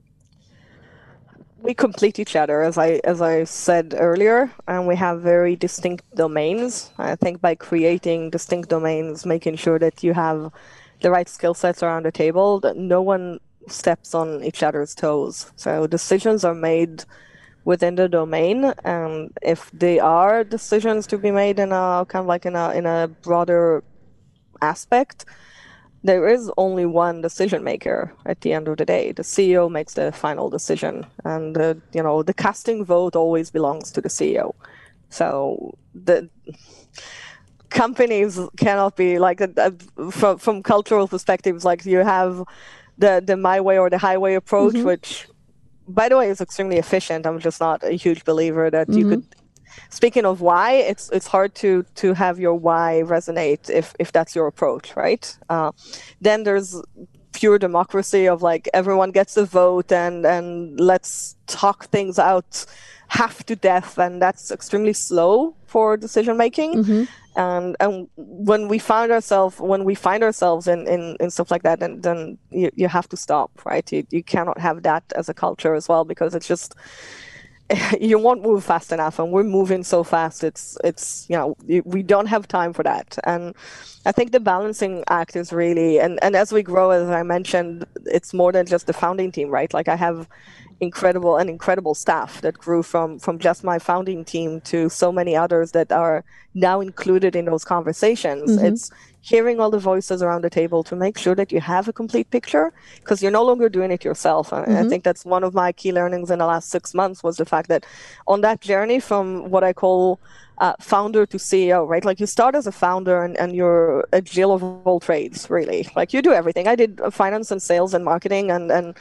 We complete each other, as I said earlier, and we have very distinct domains. I think by creating distinct domains, making sure that you have the right skill sets around the table, that no one steps on each other's toes. So decisions are made within the domain, and if they are decisions to be made in a kind of like in a broader aspect, there is only one decision maker at the end of the day. The CEO makes the final decision, and the casting vote always belongs to the CEO. So the companies cannot be like from cultural perspectives. Like, you have the my way or the highway approach, which, by the way, is extremely efficient. I'm just not a huge believer that you could. Speaking of why, it's hard to have your why resonate if that's your approach, right? Then there's pure democracy of like everyone gets a vote and let's talk things out half to death, and that's extremely slow for decision making. And when we find ourselves in stuff like that, then you have to stop, right? You cannot have that as a culture as well, because it's just. You won't move fast enough, and we're moving so fast. We don't have time for that. And I think the balancing act is really, and as we grow, as I mentioned, it's more than just the founding team, right? Like, I have incredible staff that grew from just my founding team to so many others that are now included in those conversations. It's hearing all the voices around the table to make sure that you have a complete picture, because you're no longer doing it yourself. And I think that's one of my key learnings in the last 6 months, was the fact that on that journey from what I call founder to CEO, right? Like, you start as a founder and you're a jill of all trades, really. Like, you do everything. I did finance and sales and marketing and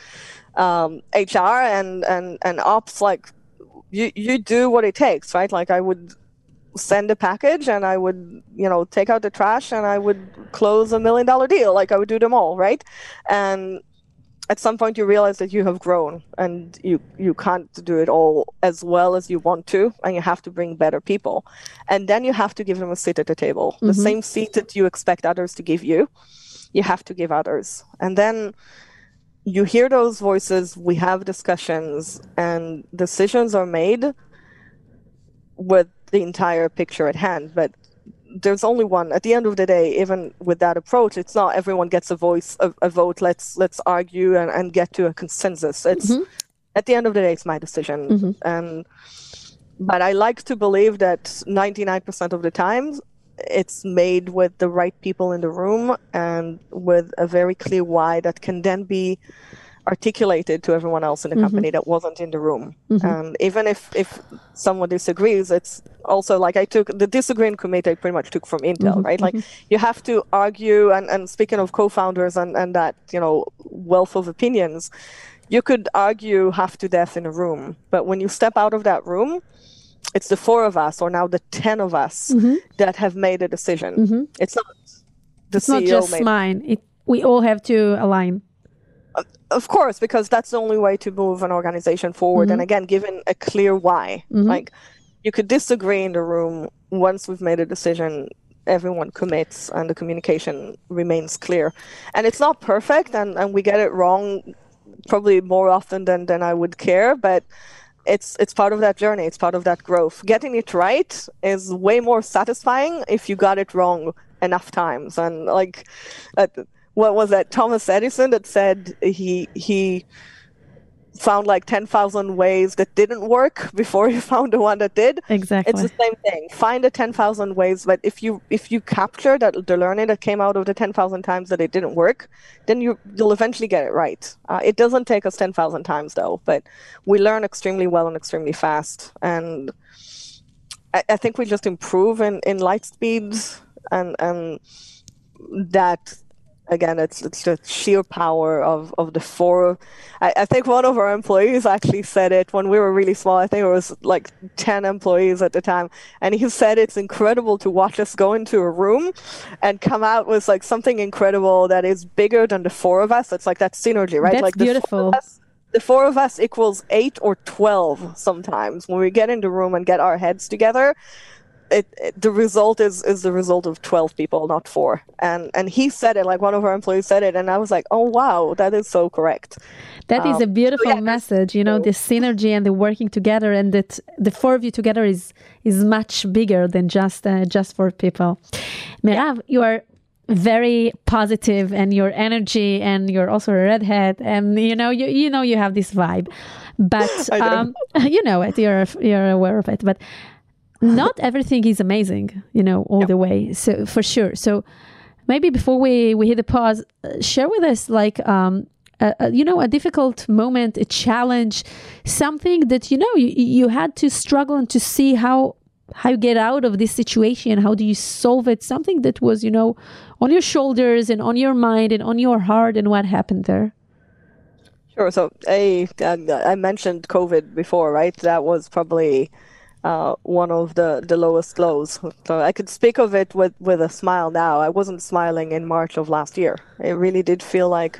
HR and ops. Like, you do what it takes, right? Like, I would send a package and I would, take out the trash and I would close $1 million deal. Like, I would do them all, right? And at some point you realize that you have grown and you can't do it all as well as you want to, and you have to bring better people. And then you have to give them a seat at the table. The same seat that you expect others to give you, you have to give others. And then you hear those voices, we have discussions, and decisions are made with the entire picture at hand. But there's only one. At the end of the day, even with that approach, it's not everyone gets a vote. Let's argue and get to a consensus. It's at the end of the day, it's my decision. But I like to believe that 99% of the time, it's made with the right people in the room and with a very clear why that can then be articulated to everyone else in the company that wasn't in the room. And even if someone disagrees, it's also like I took the disagreeing committee I pretty much took from Intel, right? Like, you have to argue, and speaking of co-founders and that, wealth of opinions, you could argue half to death in a room. But when you step out of that room, it's the 4 of us, or now the 10 of us, that have made a decision. It's not the it's CEO not just mine. We all have to align. Of course, because that's the only way to move an organization forward. And again, given a clear why. Like, you could disagree in the room. Once we've made a decision, everyone commits and the communication remains clear. And it's not perfect, and we get it wrong probably more often than I would care, but it's part of that journey. It's part of that growth. Getting it right is way more satisfying if you got it wrong enough times. And like, what was that? Thomas Edison that said he found like 10,000 ways that didn't work before he found the one that did. Exactly. It's the same thing. Find the 10,000 ways, but if you capture the learning that came out of the 10,000 times that it didn't work, then you'll eventually get it right. It doesn't take us 10,000 times though, but we learn extremely well and extremely fast. And I think we just improve in light speeds, and that, again, it's the sheer power of the 4. I think one of our employees actually said it when we were really small. I think it was like 10 employees at the time. And he said it's incredible to watch us go into a room and come out with like something incredible that is bigger than the 4 of us. It's like that synergy, right? That's like beautiful. The 4 of us equals 8 or 12 sometimes. When we get in the room and get our heads together, the result is the result of 12 people, not 4. And he said it, like one of our employees said it, and I was like, oh wow, that is so correct. That is a beautiful message, the synergy and the working together, and that the 4 of you together is much bigger than just 4 people. Merav, you are very positive, and your energy, and you're also a redhead, and you have this vibe, but you know it, you're aware of it, but not everything is amazing, all the way. So for sure. So maybe before we hit the pause, share with us like, a difficult moment, a challenge, something that, you had to struggle and to see how you get out of this situation. How do you solve it? Something that was, on your shoulders and on your mind and on your heart, and what happened there? Sure. So I mentioned COVID before, right? That was probably one of the lowest lows. So I could speak of it with a smile now. I wasn't smiling in March of last year. It really did feel like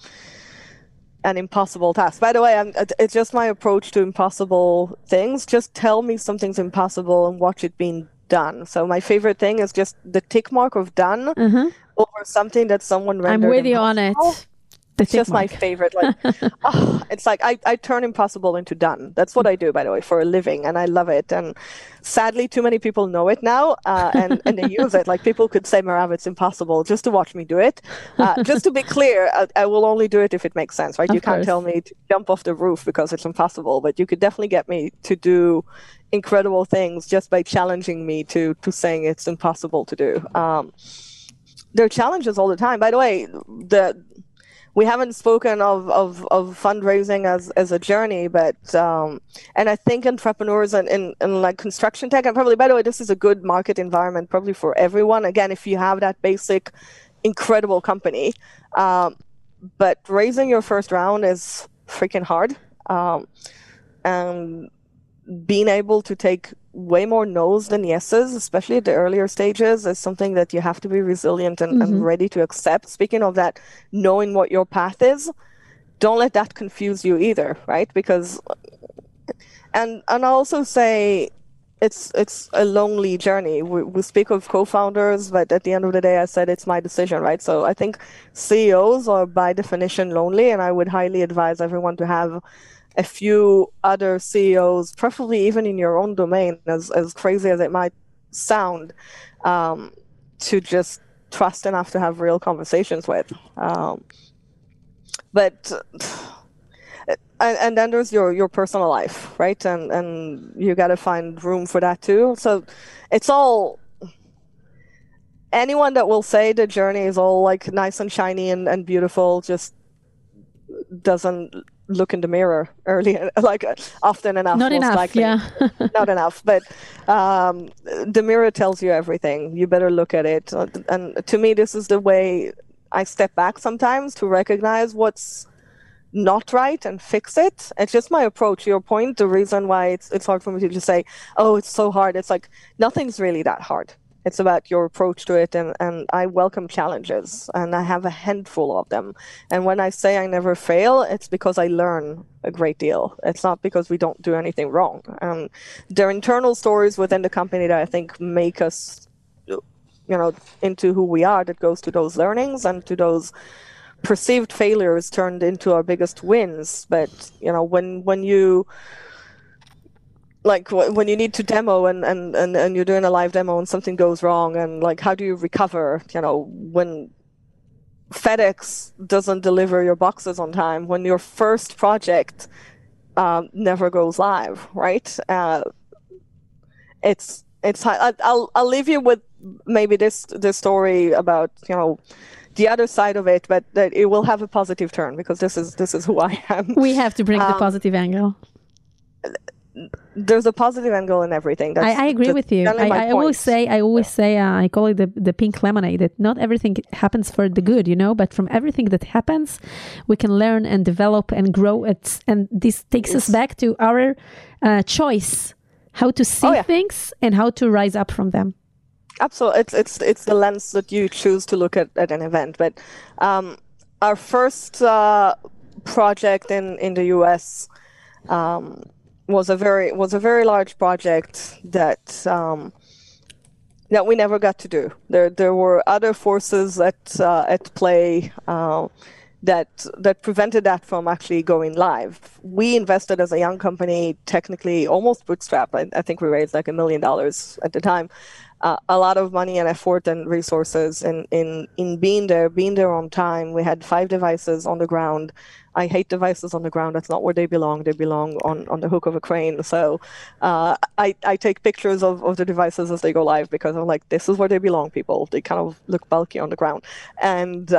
an impossible task. By the way, it's just my approach to impossible things. Just tell me something's impossible and watch it being done. So my favorite thing is just the tick mark of done over something that someone rendered I'm with you impossible. on it. It's just my favorite. Like, it's like I turn impossible into done. That's what I do, by the way, for a living, and I love it. And sadly, too many people know it now, and they use it. Like, people could say, Merav, it's impossible, just to watch me do it. Just to be clear, I will only do it if it makes sense, right? You can't tell me to jump off the roof because it's impossible, but you could definitely get me to do incredible things just by challenging me to saying it's impossible to do. There are challenges all the time. By the way, we haven't spoken of fundraising as a journey, but and I think entrepreneurs in like construction tech, and probably, by the way, this is a good market environment probably for everyone. Again, if you have that basic, incredible company, but raising your first round is freaking hard, and being able to take way more no's than yeses, especially at the earlier stages, is something that you have to be resilient and ready to accept. Speaking of that, knowing what your path is, don't let that confuse you either, right? Because, and I also say it's a lonely journey. We speak of co-founders, but at the end of the day, I said it's my decision, right? So I think CEOs are by definition lonely, and I would highly advise everyone to have a few other CEOs, preferably even in your own domain, as crazy as it might sound, to just trust enough to have real conversations with. But and then there's your personal life, right? And you got to find room for that too. So it's all, anyone that will say the journey is all like nice and shiny and beautiful just doesn't look in the mirror often enough. Not enough, likely. yeah. Not enough, but the mirror tells you everything. You better look at it. And to me, this is the way I step back sometimes to recognize what's not right and fix it. It's just my approach. Your point, the reason why it's hard for me to just say, oh, it's so hard. It's like, nothing's really that hard. It's about your approach to it, and I welcome challenges, and I have a handful of them. And when I say I never fail, it's because I learn a great deal. It's not because we don't do anything wrong. There are internal stories within the company that I think make us, into who we are, that goes to those learnings and to those perceived failures turned into our biggest wins. But, when you need to demo and you're doing a live demo and something goes wrong, and like, how do you recover? When FedEx doesn't deliver your boxes on time, when your first project never goes live, right? It's I'll leave you with maybe this story about the other side of it, but that it will have a positive turn, because this is who I am. We have to bring the positive angle. There's a positive angle in everything. I agree with you. I always say, I call it the pink lemonade, that not everything happens for the good, but from everything that happens, we can learn and develop and grow it. And this takes us back to our choice, how to see things and how to rise up from them. Absolutely. It's the lens that you choose to look at an event. But our first project in the US was a very large project that we never got to do. There were other forces at play that prevented that from actually going live. We invested as a young company, technically almost bootstrap. I think we raised like $1 million at the time. A lot of money and effort and resources in being there on time. We had 5 devices on the ground. I hate devices on the ground. That's not where they belong. They belong on the hook of a crane. So I take pictures of the devices as they go live, because I'm like, this is where they belong, people. They kind of look bulky on the ground. And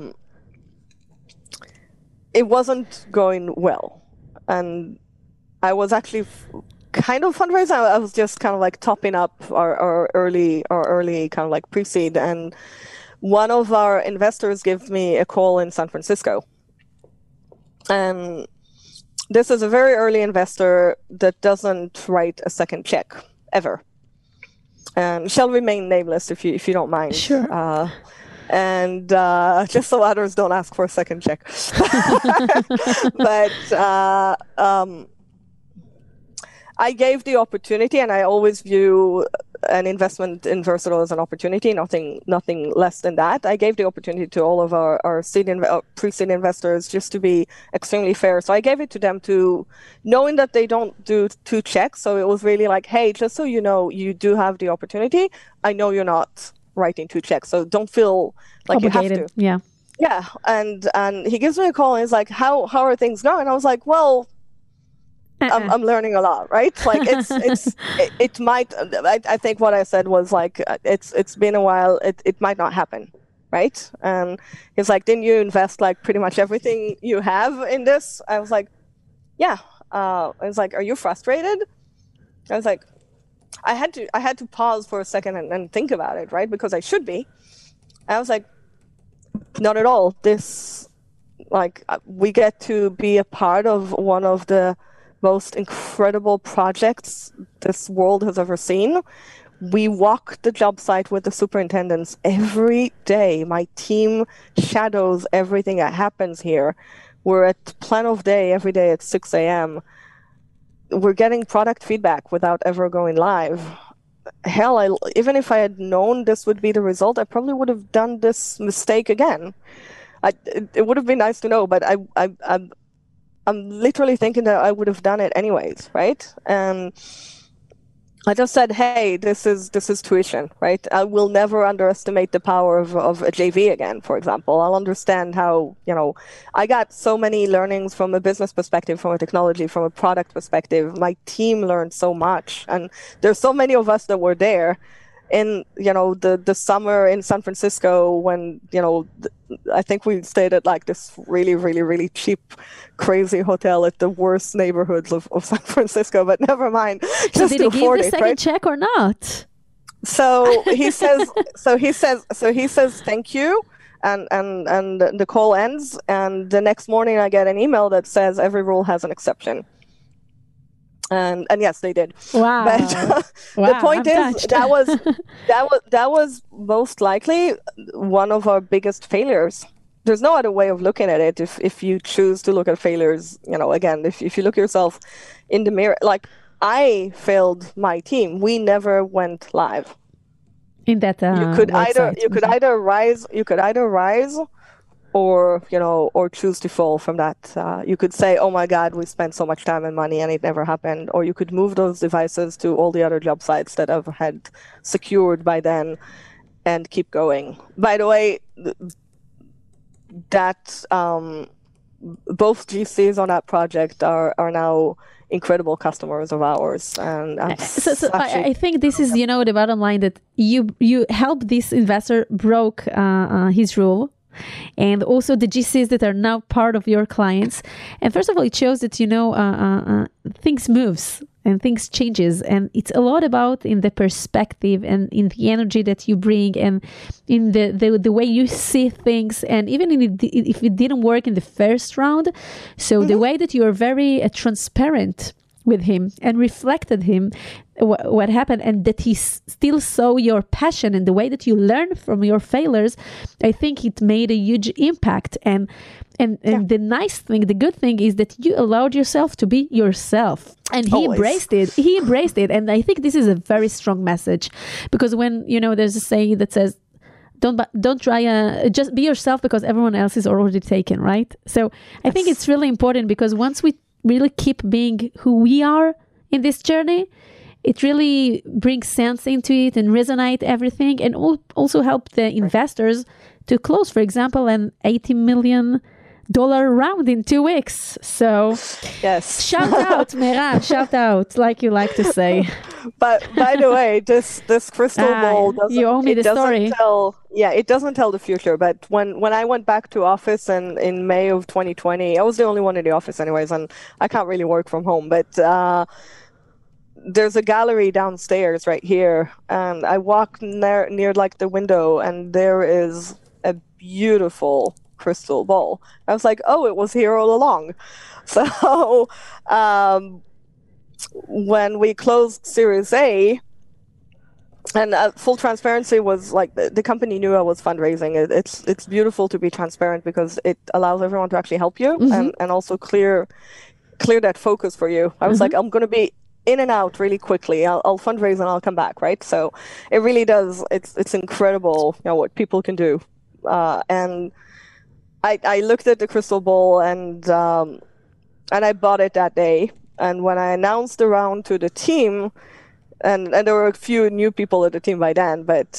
it wasn't going well. And I was actually kind of fundraising. I was just kind of like topping up our early kind of like pre-seed. And one of our investors gave me a call in San Francisco. And this is a very early investor that doesn't write a second check ever, and shall remain nameless if you don't mind. Sure. And just so others don't ask for a second check. But I gave the opportunity, and I always view an investment in Versatile as an opportunity, nothing less than that. I gave the opportunity to all of our pre-seed investors just to be extremely fair. So I gave it to them to knowing that they don't do 2 checks. So it was really like, hey, just so you know, you do have the opportunity. I know you're not writing 2 checks, so don't feel like obligated. You have to. Yeah. Yeah. And he gives me a call and he's like, how are things going? And I was like, well, I'm learning a lot, right? Like it might. I think what I said was like it's been a while. It might not happen, right? And he's like, didn't you invest like pretty much everything you have in this? I was like, yeah. I was like, are you frustrated? I was like, I had to pause for a second and think about it, right? Because I should be. I was like, not at all. This, like, we get to be a part of one of the most incredible projects this world has ever seen. We walk the job site with the superintendents every day. My team shadows everything that happens here. We're at plan of day every day at 6 a.m. We're getting product feedback without ever going live. Hell, even if I had known this would be the result, I probably would have done this mistake again. It would have been nice to know, but I'm literally thinking that I would have done it anyways, right? And I just said, hey, this is tuition, right? I will never underestimate the power of a JV again, for example. I'll understand how, I got so many learnings from a business perspective, from a technology, from a product perspective. My team learned so much. And there's so many of us that were there in, the summer in San Francisco when, I think we stayed at like this really, really, really cheap, crazy hotel at the worst neighborhoods of San Francisco, but never mind. So did he give the second check or not? So he says, thank you. And the call ends. And the next morning I get an email that says every rule has an exception. And yes, they did. Wow. But the point is that was most likely one of our biggest failures. There's no other way of looking at it. If you choose to look at failures, again, if you look yourself in the mirror, like I failed my team. We never went live. In that you could either rise or choose to fall from that. You could say, oh my God, we spent so much time and money and it never happened. Or you could move those devices to all the other job sites that I've had secured by then and keep going. By the way, that both GCs on that project are now incredible customers of ours. And I think this is, the bottom line, that you help this investor broke his rule. And also the GCs that are now part of your clients. And first of all, it shows that, things moves and things changes. And it's a lot about in the perspective and in the energy that you bring and in the way you see things. And even if it didn't work in the first round, so the way that you are very transparent with him and reflected him what happened, and that he still saw your passion and the way that you learn from your failures, I think it made a huge impact. And the nice thing, the good thing is that you allowed yourself to be yourself, and he embraced it. And I think this is a very strong message, because when there's a saying that says, don't try just be yourself because everyone else is already taken, right? So I think it's really important, because once we really keep being who we are in this journey, it really brings sense into it and resonate everything, and also help the investors to close, for example, an $80 million round in 2 weeks. So yes, shout out, Meirav, shout out, like you like to say. But by the way, this crystal ball doesn't, you owe me the story. It doesn't tell the future. But when I went back to office in May of 2020, I was the only one in the office anyways, and I can't really work from home. But there's a gallery downstairs right here, and I walk near like the window, and there is a beautiful crystal ball. I was like, oh, it was here all along. So when we closed Series A, and full transparency was like the company knew I was fundraising. It's beautiful to be transparent, because it allows everyone to actually help you and also clear that focus for you. I was like, I'm going to be in and out really quickly. I'll fundraise and I'll come back, right? So it really does. It's incredible, what people can do. And I looked at the crystal ball and I bought it that day. And when I announced the round to the team, and there were a few new people at the team by then, but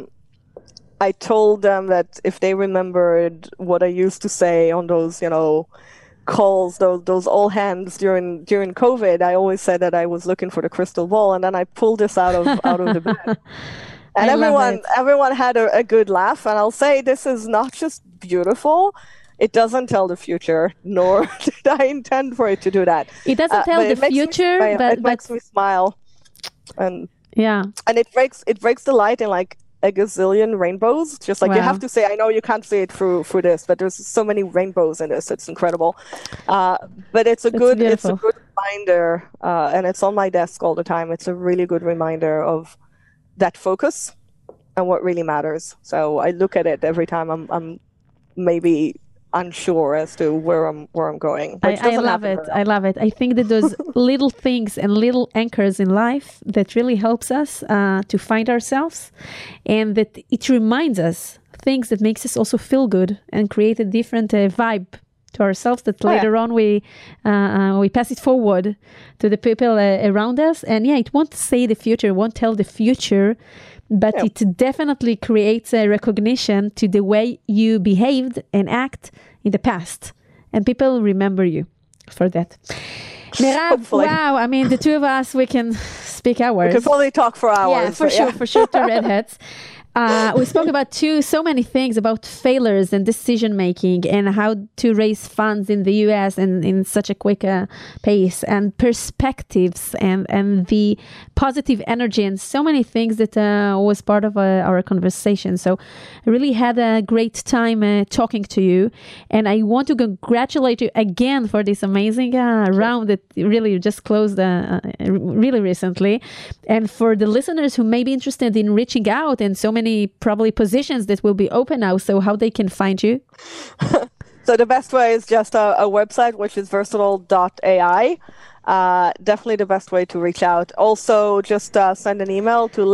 I told them that if they remembered what I used to say on those, calls, those all hands during COVID, I always said that I was looking for the crystal ball, and then I pulled this out of the bag. And everyone had a good laugh. And I'll say this is not just beautiful. It doesn't tell the future, nor did I intend for it to do that. It doesn't tell the future, but it makes me smile. And yeah, and it breaks the light in like a gazillion rainbows. Just like you have to say, I know you can't see it through this, but there's so many rainbows in this. It's incredible. But it's a good reminder, and it's on my desk all the time. It's a really good reminder of that focus and what really matters. So I look at it every time I'm maybe unsure as to where I'm going. I love it. I love it. I think that those little things and little anchors in life that really helps us to find ourselves, and that it reminds us things that makes us also feel good and create a different vibe to ourselves, that later on we pass it forward to the people around us. And it won't say the future, won't tell the future, but it definitely creates a recognition to the way you behaved and act in the past. And people remember you for that. Meirav, wow. I mean, the two of us, we can speak hours. We could probably talk for hours. Yeah, for sure, two redheads. We spoke about so many things about failures and decision making and how to raise funds in the US and in such a quick pace, and perspectives and the positive energy and so many things that was part of our conversation. So I really had a great time talking to you, and I want to congratulate you again for this amazing round that really just closed really recently. And for the listeners who may be interested in reaching out, and so many probably positions that will be open now, so how they can find you? So the best way is just a website, which is versatile.ai. Definitely the best way to reach out. Also, just send an email to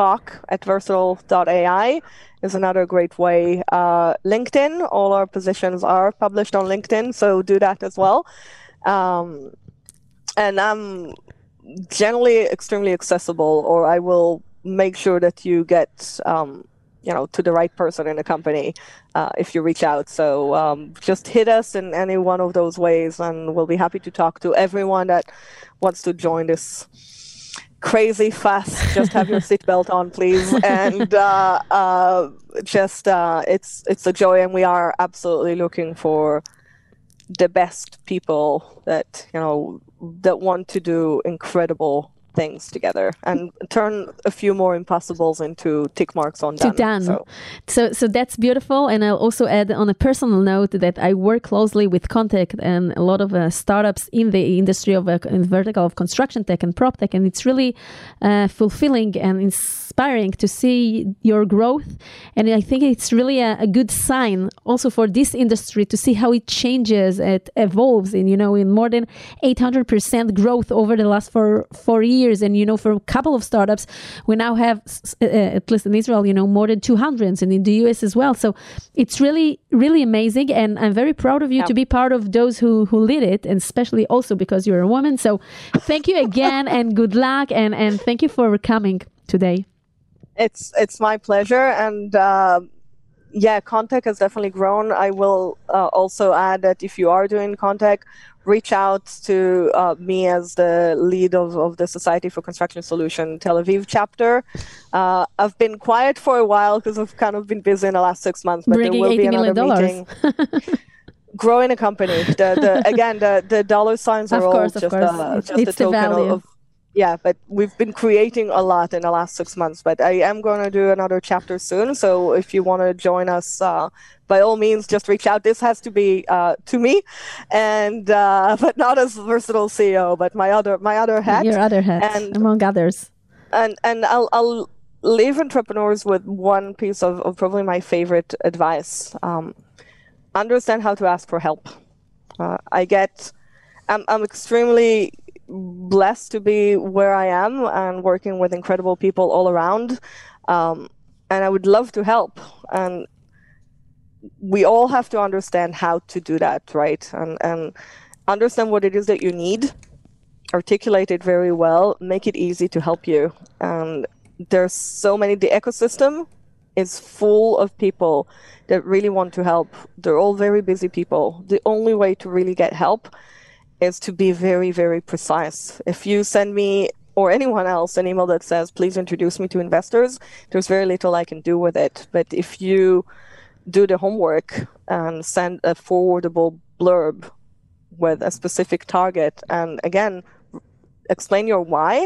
letstalk@versatile.ai is another great way. LinkedIn, all our positions are published on LinkedIn, so do that as well. And I'm generally extremely accessible, or I will make sure that you get to the right person in the company if you reach out. So just hit us in any one of those ways, and we'll be happy to talk to everyone that wants to join this crazy fast. Just have your seatbelt on, please. And it's a joy, and we are absolutely looking for the best people that want to do incredible things together and turn a few more impossibles into tick marks on done. So that's beautiful. And I'll also add on a personal note that I work closely with Contact and a lot of startups in the industry of in vertical of construction tech and prop tech, and it's really fulfilling and inspiring to see your growth. And I think it's really a good sign also for this industry to see how it changes, it evolves in more than 800% growth over the last four years. And for a couple of startups, we now have at least in Israel more than 200, and in the US as well. So it's really, really amazing, and I'm very proud of you to be part of those who lead it, and especially also because you're a woman. So thank you again, and good luck, and thank you for coming today. It's my pleasure, and Contact has definitely grown. I will also add that if you are doing Contact, reach out to me as the lead of the Society for Construction Solution Tel Aviv chapter. I've been quiet for a while because I've kind of been busy in the last 6 months, but bringing there will be another meeting. Growing a company. The dollar signs are all just a token of but we've been creating a lot in the last 6 months, but I am going to do another chapter soon. So if you want to join us, by all means, just reach out. This has to be to me, and but not as Versatile CEO, but my other hat. Your other hat, and among others. And I'll leave entrepreneurs with one piece of probably my favorite advice. Understand how to ask for help. I'm extremely blessed to be where I am and working with incredible people all around. And I would love to help. And we all have to understand how to do that, right? And understand what it is that you need, articulate it very well, make it easy to help you. And there's so many, the ecosystem is full of people that really want to help. They're all very busy people. The only way to really get help is to be very, very precise. If you send me or anyone else an email that says, please introduce me to investors, there's very little I can do with it. But if you do the homework and send a forwardable blurb with a specific target, and again, explain your why,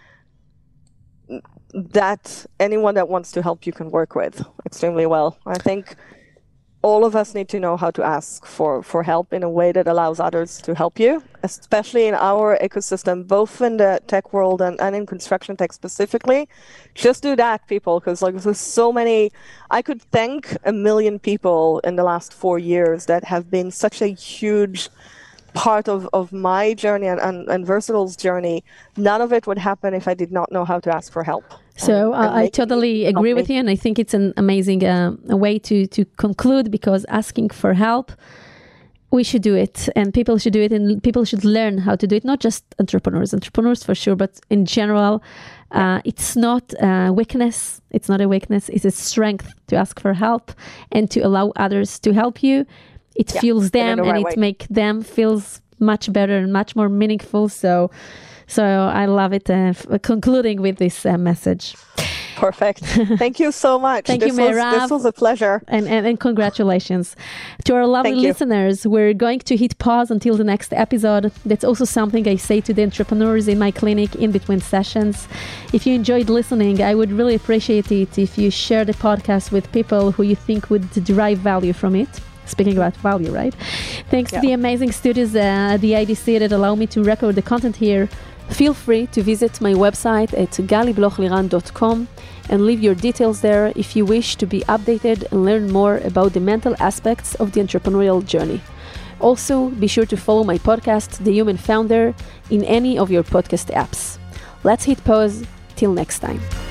that anyone that wants to help you can work with extremely well. I think all of us need to know how to ask for help in a way that allows others to help you, especially in our ecosystem, both in the tech world and in construction tech specifically. Just do that, people, because like there's so many. I could thank 1 million people in the last 4 years that have been such a huge part of my journey and Versatile's journey. None of it would happen if I did not know how to ask for help. So I totally agree with you, and I think it's an amazing way to conclude, because asking for help, we should do it, and people should do it, and people should learn how to do it. Not just entrepreneurs for sure, but in general, it's not a weakness. It's not a weakness. It's a strength to ask for help and to allow others to help you. It fuels them, and it makes them feel much better and much more meaningful. So I love it. Concluding with this message. Perfect. Thank you so much. Thank you, Meirav. This was a pleasure. And congratulations. To our lovely listeners, we're going to hit pause until the next episode. That's also something I say to the entrepreneurs in my clinic in between sessions. If you enjoyed listening, I would really appreciate it if you share the podcast with people who you think would derive value from it. Speaking about value, right? Thanks to the amazing studios at the IDC that allow me to record the content here. Feel free to visit my website at galiblochliran.com and leave your details there if you wish to be updated and learn more about the mental aspects of the entrepreneurial journey. Also, be sure to follow my podcast, The Human Founder, in any of your podcast apps. Let's hit pause. Till next time.